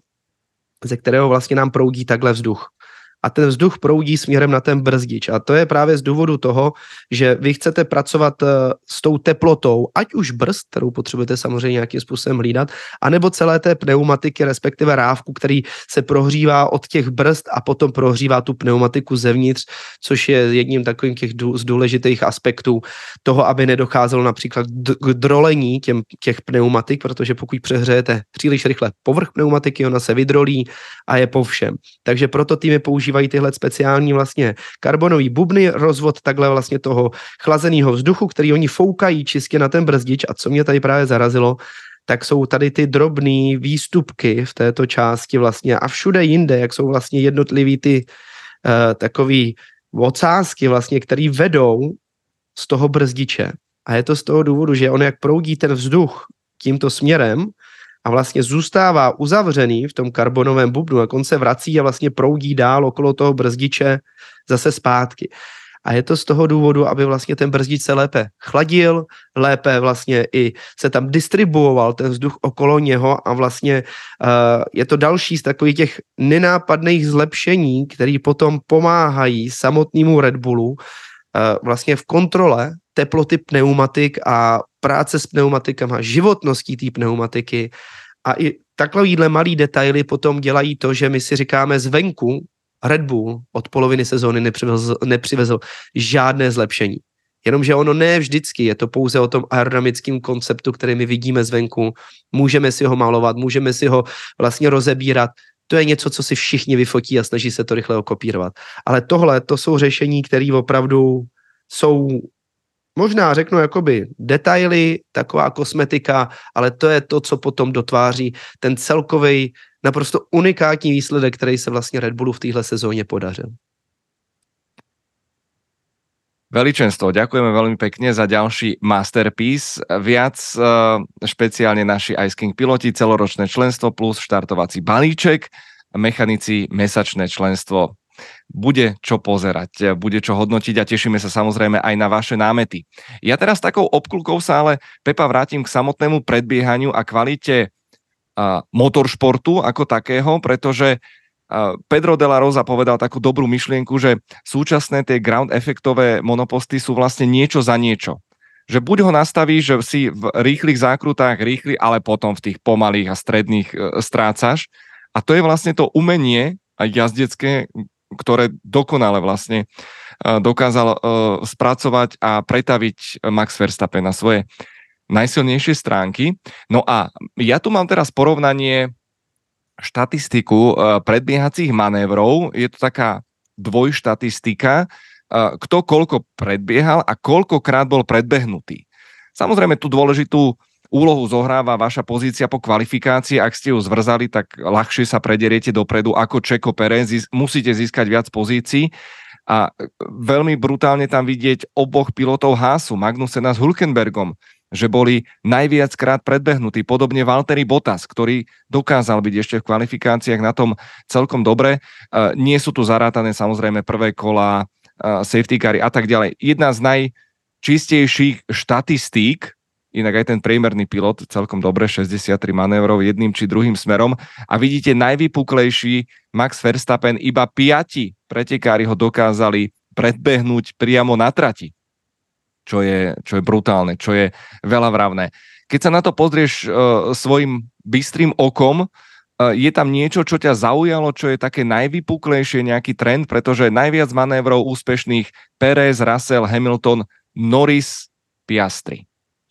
ze kterého vlastně nám proudí takhle vzduch. A ten vzduch proudí směrem na ten brzdič. A to je právě z důvodu toho, že vy chcete pracovat s tou teplotou, ať už brzd, kterou potřebujete samozřejmě nějakým způsobem hlídat, anebo celé té pneumatiky, respektive rávku, který se prohřívá od těch brzd a potom prohřívá tu pneumatiku zevnitř, což je jedním takovým těch z důležitých aspektů toho, aby nedocházelo například k drolení těm, těch pneumatik, protože pokud přehřejete příliš rychle povrch pneumatiky, ona se vydrolí a je po všem. Takže proto týmy používají tyhle speciální vlastně karbonový bubny, rozvod takhle vlastně toho chlazeného vzduchu, který oni foukají čistě na ten brzdič. A co mě tady právě zarazilo, tak jsou tady ty drobné výstupky v této části vlastně a všude jinde, jak jsou vlastně jednotlivý ty uh, takový ocásky vlastně, který vedou z toho brzdiče. A je to z toho důvodu, že on jak proudí ten vzduch tímto směrem, a vlastně zůstává uzavřený v tom karbonovém bubnu, jak on se vrací a vlastně proudí dál okolo toho brzdiče zase zpátky. A je to z toho důvodu, aby vlastně ten brzdič se lépe chladil, lépe vlastně i se tam distribuoval ten vzduch okolo něho a vlastně uh, je to další z takových těch nenápadných zlepšení, které potom pomáhají samotnému Red Bullu uh, vlastně v kontrole teploty pneumatik a práce s pneumatikama, životností té pneumatiky a i takovýhle malý detaily potom dělají to, že my si říkáme zvenku Red Bull od poloviny sezóny nepřivezl, nepřivezl žádné zlepšení. Jenomže ono ne vždycky, je to pouze o tom aerodynamickém konceptu, který my vidíme zvenku, můžeme si ho malovat, můžeme si ho vlastně rozebírat, to je něco, co si všichni vyfotí a snaží se to rychle okopírovat. Ale tohle, to jsou řešení, které opravdu jsou možná řeknu jakoby detaily, taková kosmetika, ale to je to, co potom dotváří ten celkový naprosto unikátní výsledek, který se vlastně Red Bullu v téhle sezóně podařil. Veličenstvo, ďakujeme veľmi pekne za ďalší masterpiece. Viac uh, špeciálne naši Ice King piloti, celoročné členstvo plus štartovací balíček, mechanici mesačné členstvo. Bude čo pozerať, bude čo hodnotiť a tešíme sa samozrejme aj na vaše námety. Ja teraz takou obklukou sa ale, Pepa, vrátim k samotnému predbiehaniu a kvalite uh, motoršportu ako takého, pretože uh, Pedro de la Rosa povedal takú dobrú myšlienku, že súčasné tie ground efektové monoposty sú vlastne niečo za niečo. Že buď ho nastavíš, že si v rýchlych zákrutách rýchly, ale potom v tých pomalých a stredných uh, strácaš. A to je vlastne to umenie aj jazdecké, ktoré dokonale vlastne dokázal spracovať a pretaviť Max Verstappen na svoje najsilnejšie stránky. No a ja tu mám teraz porovnanie štatistiku predbiehacích manévrov. Je to taká dvojštatistika, kto koľko predbiehal a koľkokrát bol predbehnutý. Samozrejme tú dôležitú úlohu zohráva vaša pozícia po kvalifikácii. Ak ste ju zvrzali, tak ľahšie sa prederiete dopredu ako Checo Pérez. Musíte získať viac pozícií. A veľmi brutálne tam vidieť oboch pilotov Haasu, Magnusena s Hülkenbergom, že boli najviackrát predbehnutí. Podobne Valtteri Bottas, ktorý dokázal byť ešte v kvalifikáciách na tom celkom dobre. Nie sú tu zarátané samozrejme prvé kola, safety cary a tak ďalej. Jedna z najčistejších štatistík, inak aj ten priemerný pilot celkom dobre, šesťdesiattri manévrov jedným či druhým smerom. A vidíte, najvypuklejší Max Verstappen, iba piati pretekári ho dokázali predbehnúť priamo na trati. Čo je, čo je brutálne, čo je veľa vravné. Keď sa na to pozrieš uh, svojim bystrým okom, uh, je tam niečo, čo ťa zaujalo, čo je také najvypuklejšie, nejaký trend, pretože najviac manévrov úspešných Perez, Russell, Hamilton, Norris, Piastri.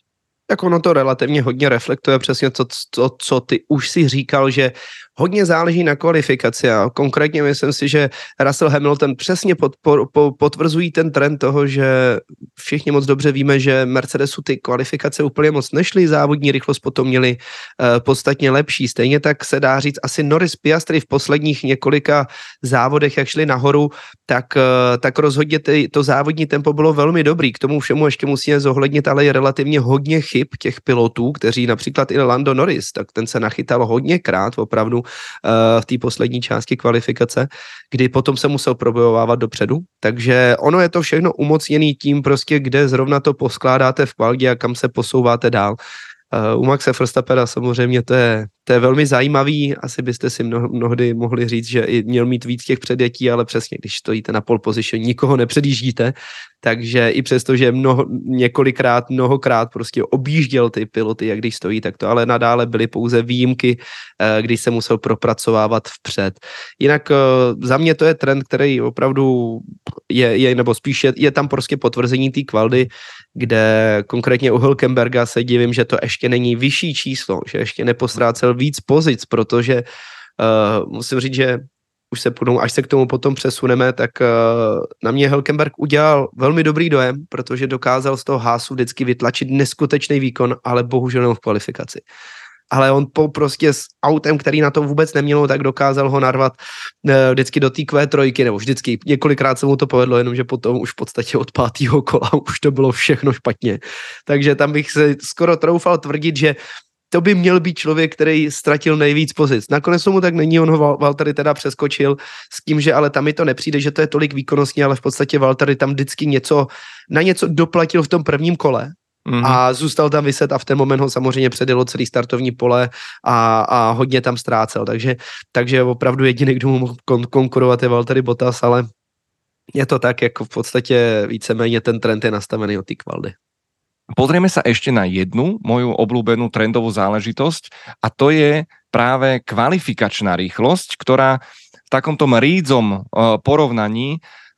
Tak ono to relativně hodně reflektuje přesně to, to, co ty už si říkal, že hodně záleží na kvalifikaci a konkrétně myslím si, že Russell Hamilton přesně podpor, po, potvrzují ten trend toho, že všichni moc dobře víme, že Mercedesu ty kvalifikace úplně moc nešly, závodní rychlost potom měli uh, podstatně lepší. Stejně tak se dá říct, asi Norris, Piastri v posledních několika závodech, jak šli nahoru, tak, uh, tak rozhodně ty, to závodní tempo bylo velmi dobrý. K tomu všemu ještě musíme zohlednit, ale je relativně hodně chyb těch pilotů, kteří například i Lando Norris, tak ten se nachytal hodněkrát opravdu uh, v té poslední části kvalifikace, kdy potom se musel probojovávat dopředu. Takže ono je to všechno umocněný tím prostě, kde zrovna to poskládáte v kvaldě a kam se posouváte dál. Uh, u Maxe Verstappena samozřejmě to je, to je velmi zajímavý, asi byste si mno, mnohdy mohli říct, že i měl mít víc těch předjetí, ale přesně, když stojíte na pole position, nikoho nepředjíždíte, takže i přesto, že mnoho, několikrát, mnohokrát prostě objížděl ty piloty, jak když stojí, tak to ale nadále byly pouze výjimky, uh, když se musel propracovávat vpřed. Jinak uh, za mě to je trend, který opravdu je, je nebo spíš je, je tam prostě potvrzení té kvaldy, kde konkrétně u Hülkenberga se divím, že to ještě není vyšší číslo, že ještě nepostrácel víc pozic, protože uh, musím říct, že už se půjdou, až se k tomu potom přesuneme, tak uh, na mě Hülkenberg udělal velmi dobrý dojem, protože dokázal z toho Haasu vždycky vytlačit neskutečný výkon, ale bohužel jenom v kvalifikaci. Ale on po prostě s autem, který na to vůbec nemělo, tak dokázal ho narvat e, vždycky do té kvé trojky, nebo vždycky, několikrát se mu to povedlo, jenomže potom už v podstatě od pátého kola už to bylo všechno špatně. Takže tam bych se skoro troufal tvrdit, že to by měl být člověk, který ztratil nejvíc pozic. Nakonec tomu tak není, on ho Valtteri teda přeskočil s tím, že ale tam mi to nepřijde, že to je tolik výkonnostní, ale v podstatě Valtteri tam vždycky něco, na něco doplatil v tom prvním kole. Mm-hmm. A zůstal tam vyset a v ten moment ho samozřejmě předjelo celý startovní pole a, a hodně tam ztrácel, takže, takže opravdu jediný, kdo mu mohl kon- konkurovat je Valtteri Bottas, ale je to tak, jako v podstatě víceméně ten trend je nastavený od té kvaldy. Pozrieme sa ešte na jednu moju obľúbenú trendovú záležitosť a to je práve kvalifikačná rýchlosť, ktorá v takomto rídzom porovnaní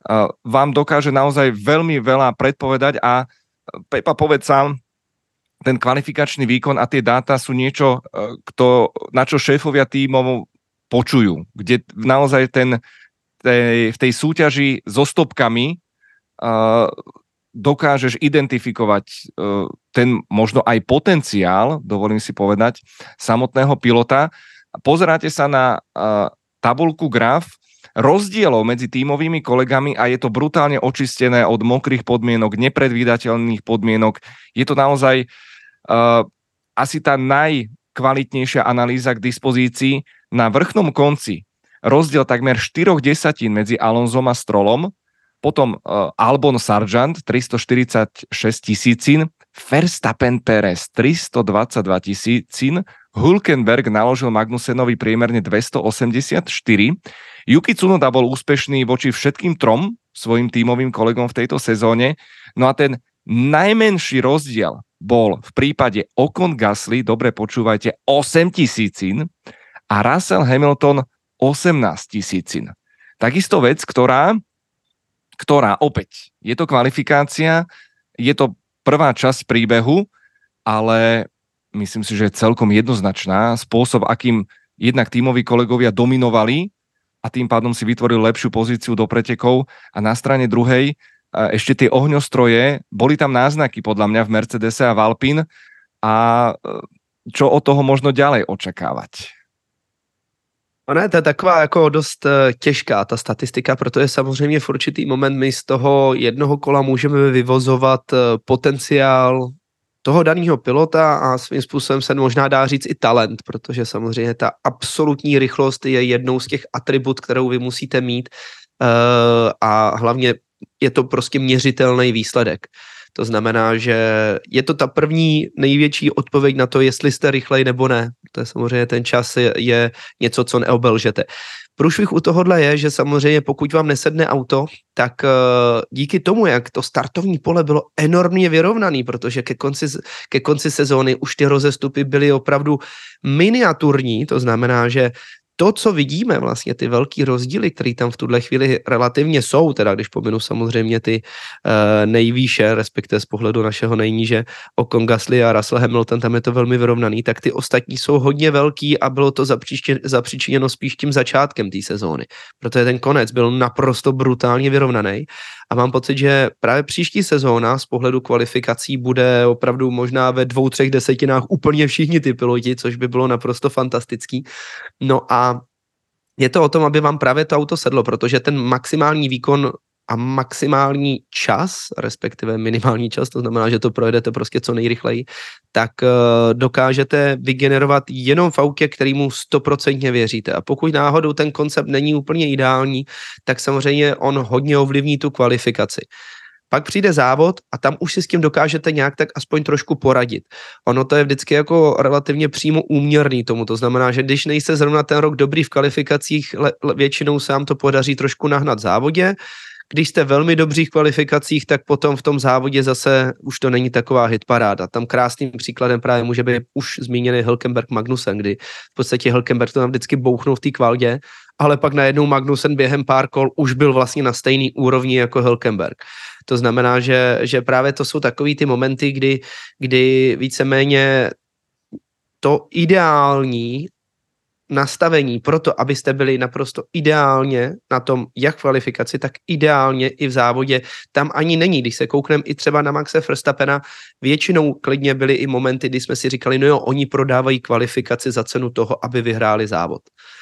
vám dokáže naozaj veľmi veľa predpovedať a Pepa, povedz sám, ten kvalifikačný výkon a tie dáta sú niečo, kto, na čo šéfovia tímov počujú, kde naozaj ten, tej, v tej súťaži so stopkami uh, dokážeš identifikovať uh, ten možno aj potenciál, dovolím si povedať, samotného pilota. Pozeráte sa na uh, tabuľku graf rozdielov medzi tímovými kolegami a je to brutálne očistené od mokrých podmienok, nepredvídateľných podmienok. Je to naozaj uh, asi tá najkvalitnejšia analýza k dispozícii. Na vrchnom konci rozdiel takmer štyroch desatín medzi Alonsom a Strollom, potom uh, Albon Sargent tristoštyridsaťšesť tisícin, Verstappen Perez tristodvadsaťdva tisícin, Hülkenberg naložil Magnusenovi priemerne dvestoosemdesiatštyri. Yuki Tsunoda bol úspešný voči všetkým trom svojim tímovým kolegom v tejto sezóne. No a ten najmenší rozdiel bol v prípade Ocon Gasly, dobre počúvajte, osem tisícin a Russell Hamilton osemnásť tisícin. Takisto vec, ktorá, ktorá opäť, je to kvalifikácia, je to prvá časť príbehu, ale myslím si, že je celkom jednoznačná. Spôsob, akým jednak tímoví kolegovia dominovali a tým pádom si vytvoril lepšiu pozíciu do pretekov a na strane druhej ešte tie ohňostroje, boli tam náznaky podľa mňa v Mercedese a v Alpine a čo od toho možno ďalej očakávať? Ono je to taková jako dost těžká ta statistika, protože samozřejmě v určitý moment my z toho jednoho kola můžeme vyvozovat potenciál toho daného pilota a svým způsobem se možná dá říct i talent, protože samozřejmě ta absolutní rychlost je jednou z těch atribut, kterou vy musíte mít a hlavně je to prostě měřitelný výsledek. To znamená, že je to ta první největší odpověď na to, jestli jste rychlej nebo ne. To je samozřejmě ten čas je, je něco, co neobelžete. Průšvih u tohohle je, že samozřejmě pokud vám nesedne auto, tak uh, díky tomu, jak to startovní pole bylo enormně vyrovnaný, protože ke konci, ke konci sezóny už ty rozestupy byly opravdu miniaturní, to znamená, že to, co vidíme, vlastně ty velký rozdíly, které tam v tuhle chvíli relativně jsou, teda když pominu samozřejmě ty uh, nejvýše, respektive z pohledu našeho nejníže, Ocon, Gasly a Russell Hamilton, tam je to velmi vyrovnaný, tak ty ostatní jsou hodně velký a bylo to zapříčiněno spíš tím začátkem té sezóny, protože ten konec byl naprosto brutálně vyrovnaný a mám pocit, že právě příští sezóna z pohledu kvalifikací bude opravdu možná ve dvou, třech desetinách úplně všichni ty piloti, což by bylo naprosto fantastický. No a je to o tom, aby vám právě to auto sedlo, protože ten maximální výkon a maximální čas, respektive minimální čas, to znamená, že to projedete prostě co nejrychleji, tak uh, dokážete vygenerovat jenom v autě, kterému stoprocentně věříte. A pokud náhodou ten koncept není úplně ideální, tak samozřejmě on hodně ovlivní tu kvalifikaci. Pak přijde závod a tam už si s tím dokážete nějak tak aspoň trošku poradit. Ono to je vždycky jako relativně přímo úměrný tomu, to znamená, že když nejste zrovna ten rok dobrý v kvalifikacích, le, le, většinou se vám to podaří trošku nahnat v závodě. Když jste velmi dobří v kvalifikacích, tak potom v tom závodě zase už to není taková hitparáda. Tam krásným příkladem právě může být už zmíněný Hülkenberg Magnussen, kdy v podstatě Hülkenberg to tam vždycky bouchnul v té kvaldě, ale pak najednou Magnussen během pár kol už byl vlastně na stejný úrovni jako Hülkenberg. To znamená, že, že právě to jsou takový ty momenty, kdy, kdy víceméně to ideální nastavení pro to, abyste byli naprosto ideálně na tom, jak v kvalifikaci, tak ideálně i v závodě, tam ani není. Když se koukneme i třeba na Maxe Verstappena, většinou klidně byly i momenty, kdy jsme si říkali, no jo, oni prodávají kvalifikaci za cenu toho, aby vyhráli závod.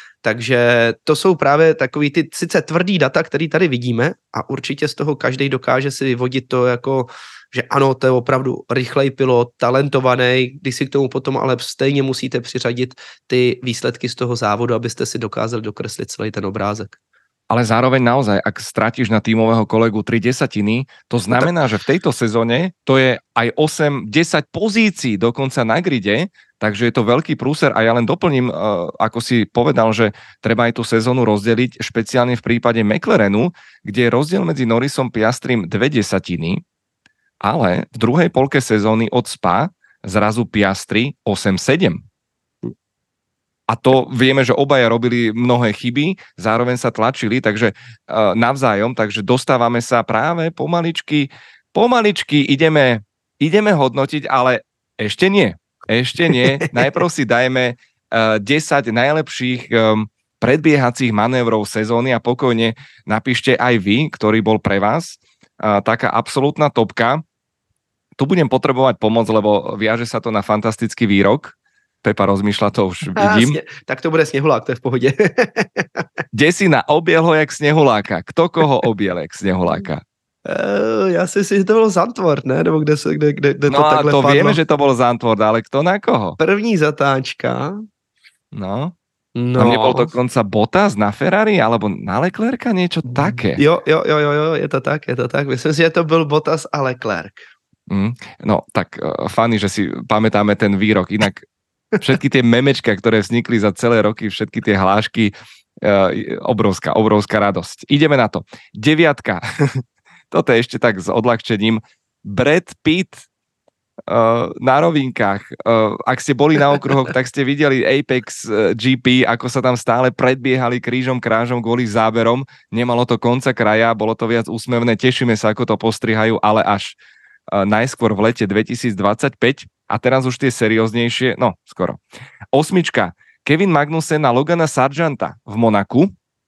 Takže to jsou právě takový ty sice tvrdý data, který tady vidíme a určitě z toho každý dokáže si vyvodit to jako, že ano, to je opravdu rychlej pilot, talentovaný, když si k tomu potom ale stejně musíte přiřadit ty výsledky z toho závodu, abyste si dokázali dokreslit celý ten obrázek. Ale zároveň naozaj, ak stratíš na tímového kolegu tri desatiny, to znamená, že v tejto sezóne to je aj osem desať pozícií dokonca na gride, takže je to veľký prúser a ja len doplním, ako si povedal, že treba aj tú sezónu rozdeliť, špeciálne v prípade McLarenu, kde je rozdiel medzi Norrisom Piastrim dve desatiny, ale v druhej polke sezóny od Spa zrazu Piastri osem sedem. A to vieme, že obaja robili mnohé chyby, zároveň sa tlačili, takže uh, navzájom, takže dostávame sa práve pomaličky, pomaličky ideme, ideme hodnotiť, ale ešte nie, ešte nie. Najprv si dajme uh, desať najlepších um, predbiehacích manévrov sezóny a pokojne napíšte aj vy, ktorý bol pre vás uh, taká absolútna topka. Tu budem potrebovať pomoc, lebo viaže sa to na fantastický výrok. Pepa rozmýšľa, to už vidím. Jasne, tak to bude sněhulák, to je v pohodě. Desina, objel ho jak sněhuláka. Kto koho objel jak sněhuláka? Uh, já si myslím, že to bylo Zandvoort, ne? Nebo kde, se, kde, kde, kde no to takhle to padlo. vieme, že to bol Zandvoort, ale kto na koho? První zatáčka. No. No. Tam nebol dokonca Bottas na Ferrari, alebo na Leclerca, niečo také. Jo, jo, jo, jo, je to tak, je to tak. Myslím si, že to byl Bottas a Leclerc. Mm, no, tak uh, fany, že si pamätáme ten výrok. Inak všetky tie memečka, ktoré vznikli za celé roky, všetky tie hlášky, uh, obrovská, obrovská radosť. Ideme na to. Deviatka. Toto je ešte tak s odľahčením. Brad Pitt uh, na rovinkách. Uh, ak ste boli na okruhoch, tak ste videli Apex uh, gé pé, ako sa tam stále predbiehali krížom krážom kvôli záberom. Nemalo to konca kraja, bolo to viac úsmevné. Tešíme sa, ako to postrihajú, ale až uh, najskôr v lete dvetisícdvadsaťpäť. A teraz už tie serióznejšie, no skoro. Osmička. Kevin Magnussen na Logana Sargenta v Monaku.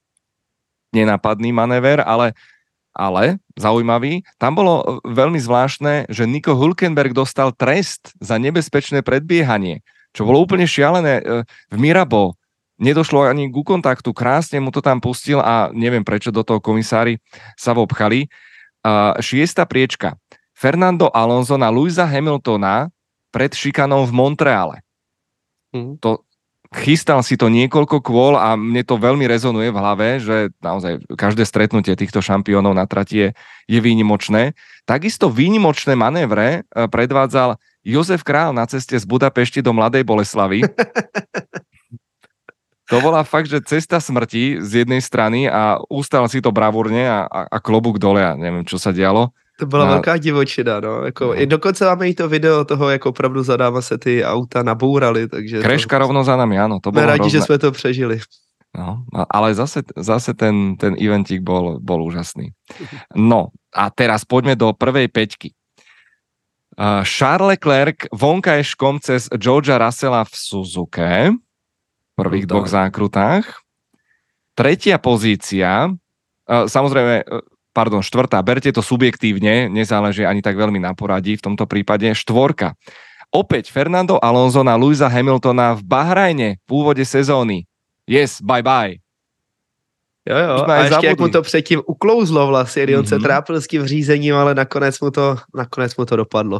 Nenápadný manéver, ale, ale zaujímavý. Tam bolo veľmi zvláštne, že Nico Hülkenberg dostal trest za nebezpečné predbiehanie, čo bolo úplne šialené. V Mirabo nedošlo ani ku kontaktu, krásne mu to tam pustil a neviem, prečo do toho komisári sa vopchali. Šiesta priečka. Fernando Alonso na Lewisa Hamiltona pred šikanou v Montreale. Mm. To chystal si to niekoľko kôl a mne to veľmi rezonuje v hlave, že naozaj každé stretnutie týchto šampiónov na trati je, je výnimočné. Takisto výnimočné manévre predvádzal Jozef Král na ceste z Budapešti do Mladej Boleslavy. To bola fakt, že cesta smrti z jednej strany a ustal si to bravúrne a, a, a klobúk dole a neviem, čo sa dialo. To byla na... velká divočina, no. Jako, no. I dokonce máme i to video toho, jak opravdu zadáma se ty auta nabourali, takže... Kreška to... rovno za nami, áno. To bolo rádi, hrozné. Že sme to přežili. No, ale zase, zase ten, ten eventík bol, bol úžasný. No, a teraz poďme do prvej peťky. Uh, Charles Leclerc vonkajškom cez Georgea Russella v Suzuke, v prvých no, dvoch zákrutách. Tretia pozícia, uh, samozrejme... Pardon, štvrtá, berte to subjektívne, nezáleží ani tak veľmi na poradí v tomto prípade. Štvorka. Opäť Fernando Alonso na Lewisa Hamiltona v Bahrajne v úvode sezóny. Yes, bye bye. Jo, jo, a ještě jak mu to předtím uklouzlo vlastně, kdy on mm-hmm. se trápil s tím řízením, ale nakonec mu to, nakonec mu to dopadlo.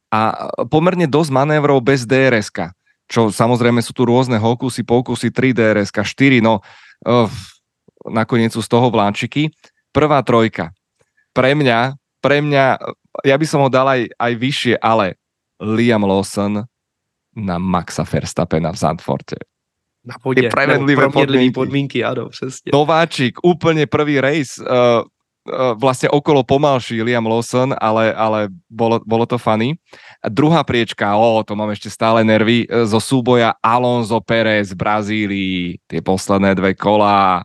A pomerne dosť manévrov bez dé er eska, čo samozrejme sú tu rôzne hokusy, pokusy, tri dé er eska, štyri, no uh, nakoniec sú z toho vláčiky. Prvá trojka. Pre mňa, pre mňa, ja by som ho dal aj, aj vyššie, ale Liam Lawson na Maxa Verstappena v Zandvoorte. Na pôde, premenlivé podmienky. podmienky, áno, přesne. Nováčik, úplne prvý race, uh, uh, vlastne okolo pomalší Liam Lawson, ale, ale bolo, bolo to funny. A druhá priečka, ó, to mám ešte stále nervy, uh, zo súboja Alonso Pérez v Brazílii, tie posledné dve kolá,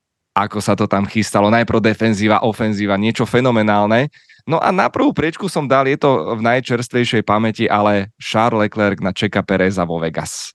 ako sa to tam chystalo, najprv defenzíva, ofenzíva, niečo fenomenálne. No a na prvú priečku som dal, je to v najčerstvejšej pamäti, ale Charles Leclerc na Checa Pereza vo Vegas.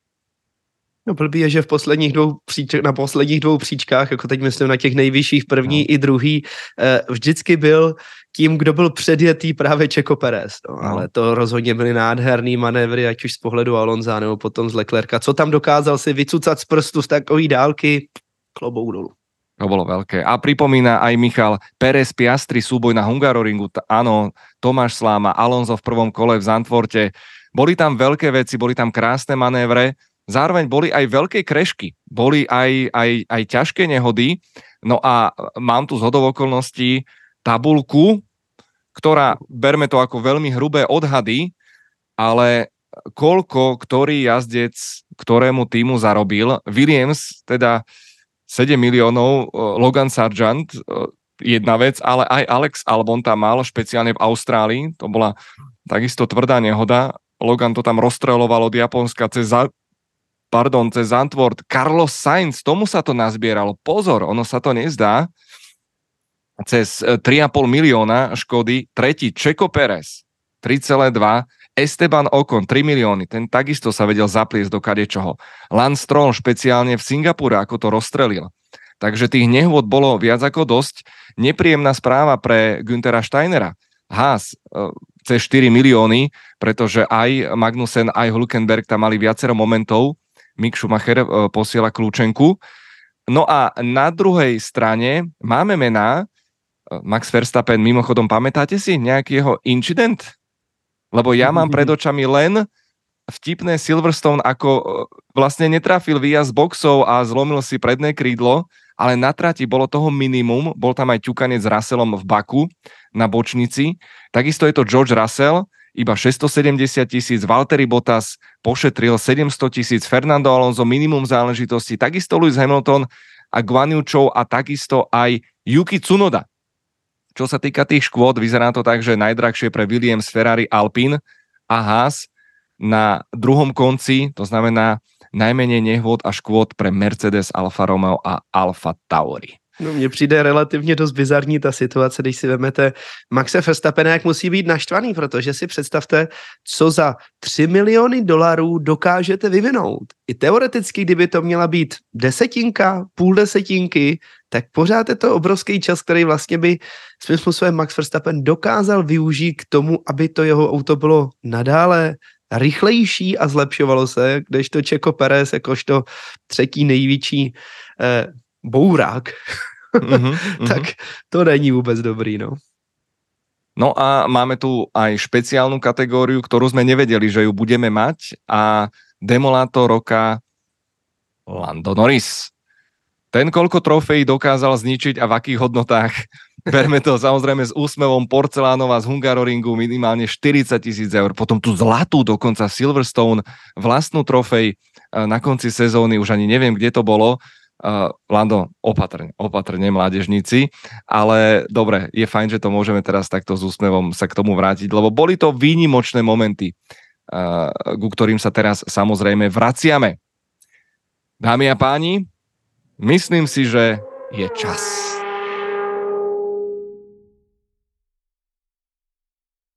No blbý je, že v posledních dvou příč- na posledních dvou příčkách, jako teď myslím na těch nejvyšších první no. i druhý, eh, vždycky byl tím, kdo byl předjetý právě Checo Perez. No, no. Ale to rozhodně byly nádherný manévry, ať už z pohledu Alonza nebo potom z Leclerca. Co tam dokázal si vycucat z prstu z takový dálky, klobouk dolů. To bolo veľké. A pripomína aj Michal Pérez Piastri súboj na Hungaroringu. T- áno, Tomáš Sláma, Alonso v prvom kole v Zandvoorte. Boli tam veľké veci, boli tam krásne manévre, zároveň boli aj veľké krešky, boli aj, aj, aj ťažké nehody. No a mám tu zhodou okolností tabulku, ktorá, berme to ako veľmi hrubé odhady, ale koľko ktorý jazdec ktorému týmu zarobil. Williams teda sedem miliónov, Logan Sargent, jedna vec, ale aj Alex Albon tam mal, špeciálne v Austrálii, to bola takisto tvrdá nehoda, Logan to tam rozstreľoval od Japonska cez, pardon, cez Zandvoort, Carlos Sainz, tomu sa to nazbieralo, pozor, ono sa to nezdá, cez tri a pol milióna škody, tretí Checo Perez, tri celé dva, Esteban Ocon, tri milióny, ten takisto sa vedel zapliesť do kadečoho. Lance Stroll špeciálne v Singapúre, ako to rozstrelil. Takže tých nehôd bolo viac ako dosť. Nepríjemná správa pre Günthera Steinera. Haas cez štyri milióny, pretože aj Magnussen, aj Hülkenberg tam mali viacero momentov. Mick Schumacher posiela kľúčenku. No a na druhej strane máme mená. Max Verstappen, mimochodom, pamätáte si nejaký jeho incident? Lebo ja mám pred očami len vtipné Silverstone, ako vlastne netrafil výjazd boxov a zlomil si predné krídlo, ale na trati bolo toho minimum, bol tam aj ťukanec s Russellom v Baku na bočnici. Takisto je to George Russell, iba šesťstosedemdesiat tisíc, Valtteri Bottas pošetril sedemsto tisíc, Fernando Alonso minimum záležitosti, takisto Lewis Hamilton a Guan Yu Zhou a takisto aj Yuki Tsunoda. Čo sa týka tých škôd, vyzerá to tak, že najdrahšie pre Williams, Ferrari, Alpine a Haas na druhom konci, to znamená najmenej nehôd a škôd pre Mercedes, Alfa Romeo a Alfa Tauri. No mně přijde relativně dost bizarní ta situace, když si vemete Maxe Verstappena, jak musí být naštvaný, protože si představte, co za tři miliony dolarů dokážete vyvinout. I teoreticky, kdyby to měla být desetinka, půl desetinky, tak pořád je to obrovský čas, který vlastně by svým způsobem Max Verstappen dokázal využít k tomu, aby to jeho auto bylo nadále rychlejší a zlepšovalo se, kdežto Checo Perez jakožto třetí největší eh, bourák, mm-hmm, tak to není vůbec dobrý, no. No a máme tu aj špeciálnu kategóriu, ktorú sme nevedeli, že ju budeme mať a Demolátor roka Lando Norris. Ten, koľko trofejí dokázal zničiť a v akých hodnotách, berme to samozrejme s úsmevom, Porcelánova z Hungaroringu minimálne štyridsať tisíc eur, potom tu zlatú dokonca Silverstone, vlastnú trofej na konci sezóny, už ani neviem, kde to bolo. Uh, Lando, opatrne, opatrne, mládežníci, ale dobre, je fajn, že to môžeme teraz takto s úsmevom sa k tomu vrátiť, lebo boli to výnimočné momenty, uh, ku ktorým sa teraz samozrejme vraciame. Dámy a páni, myslím si, že je čas.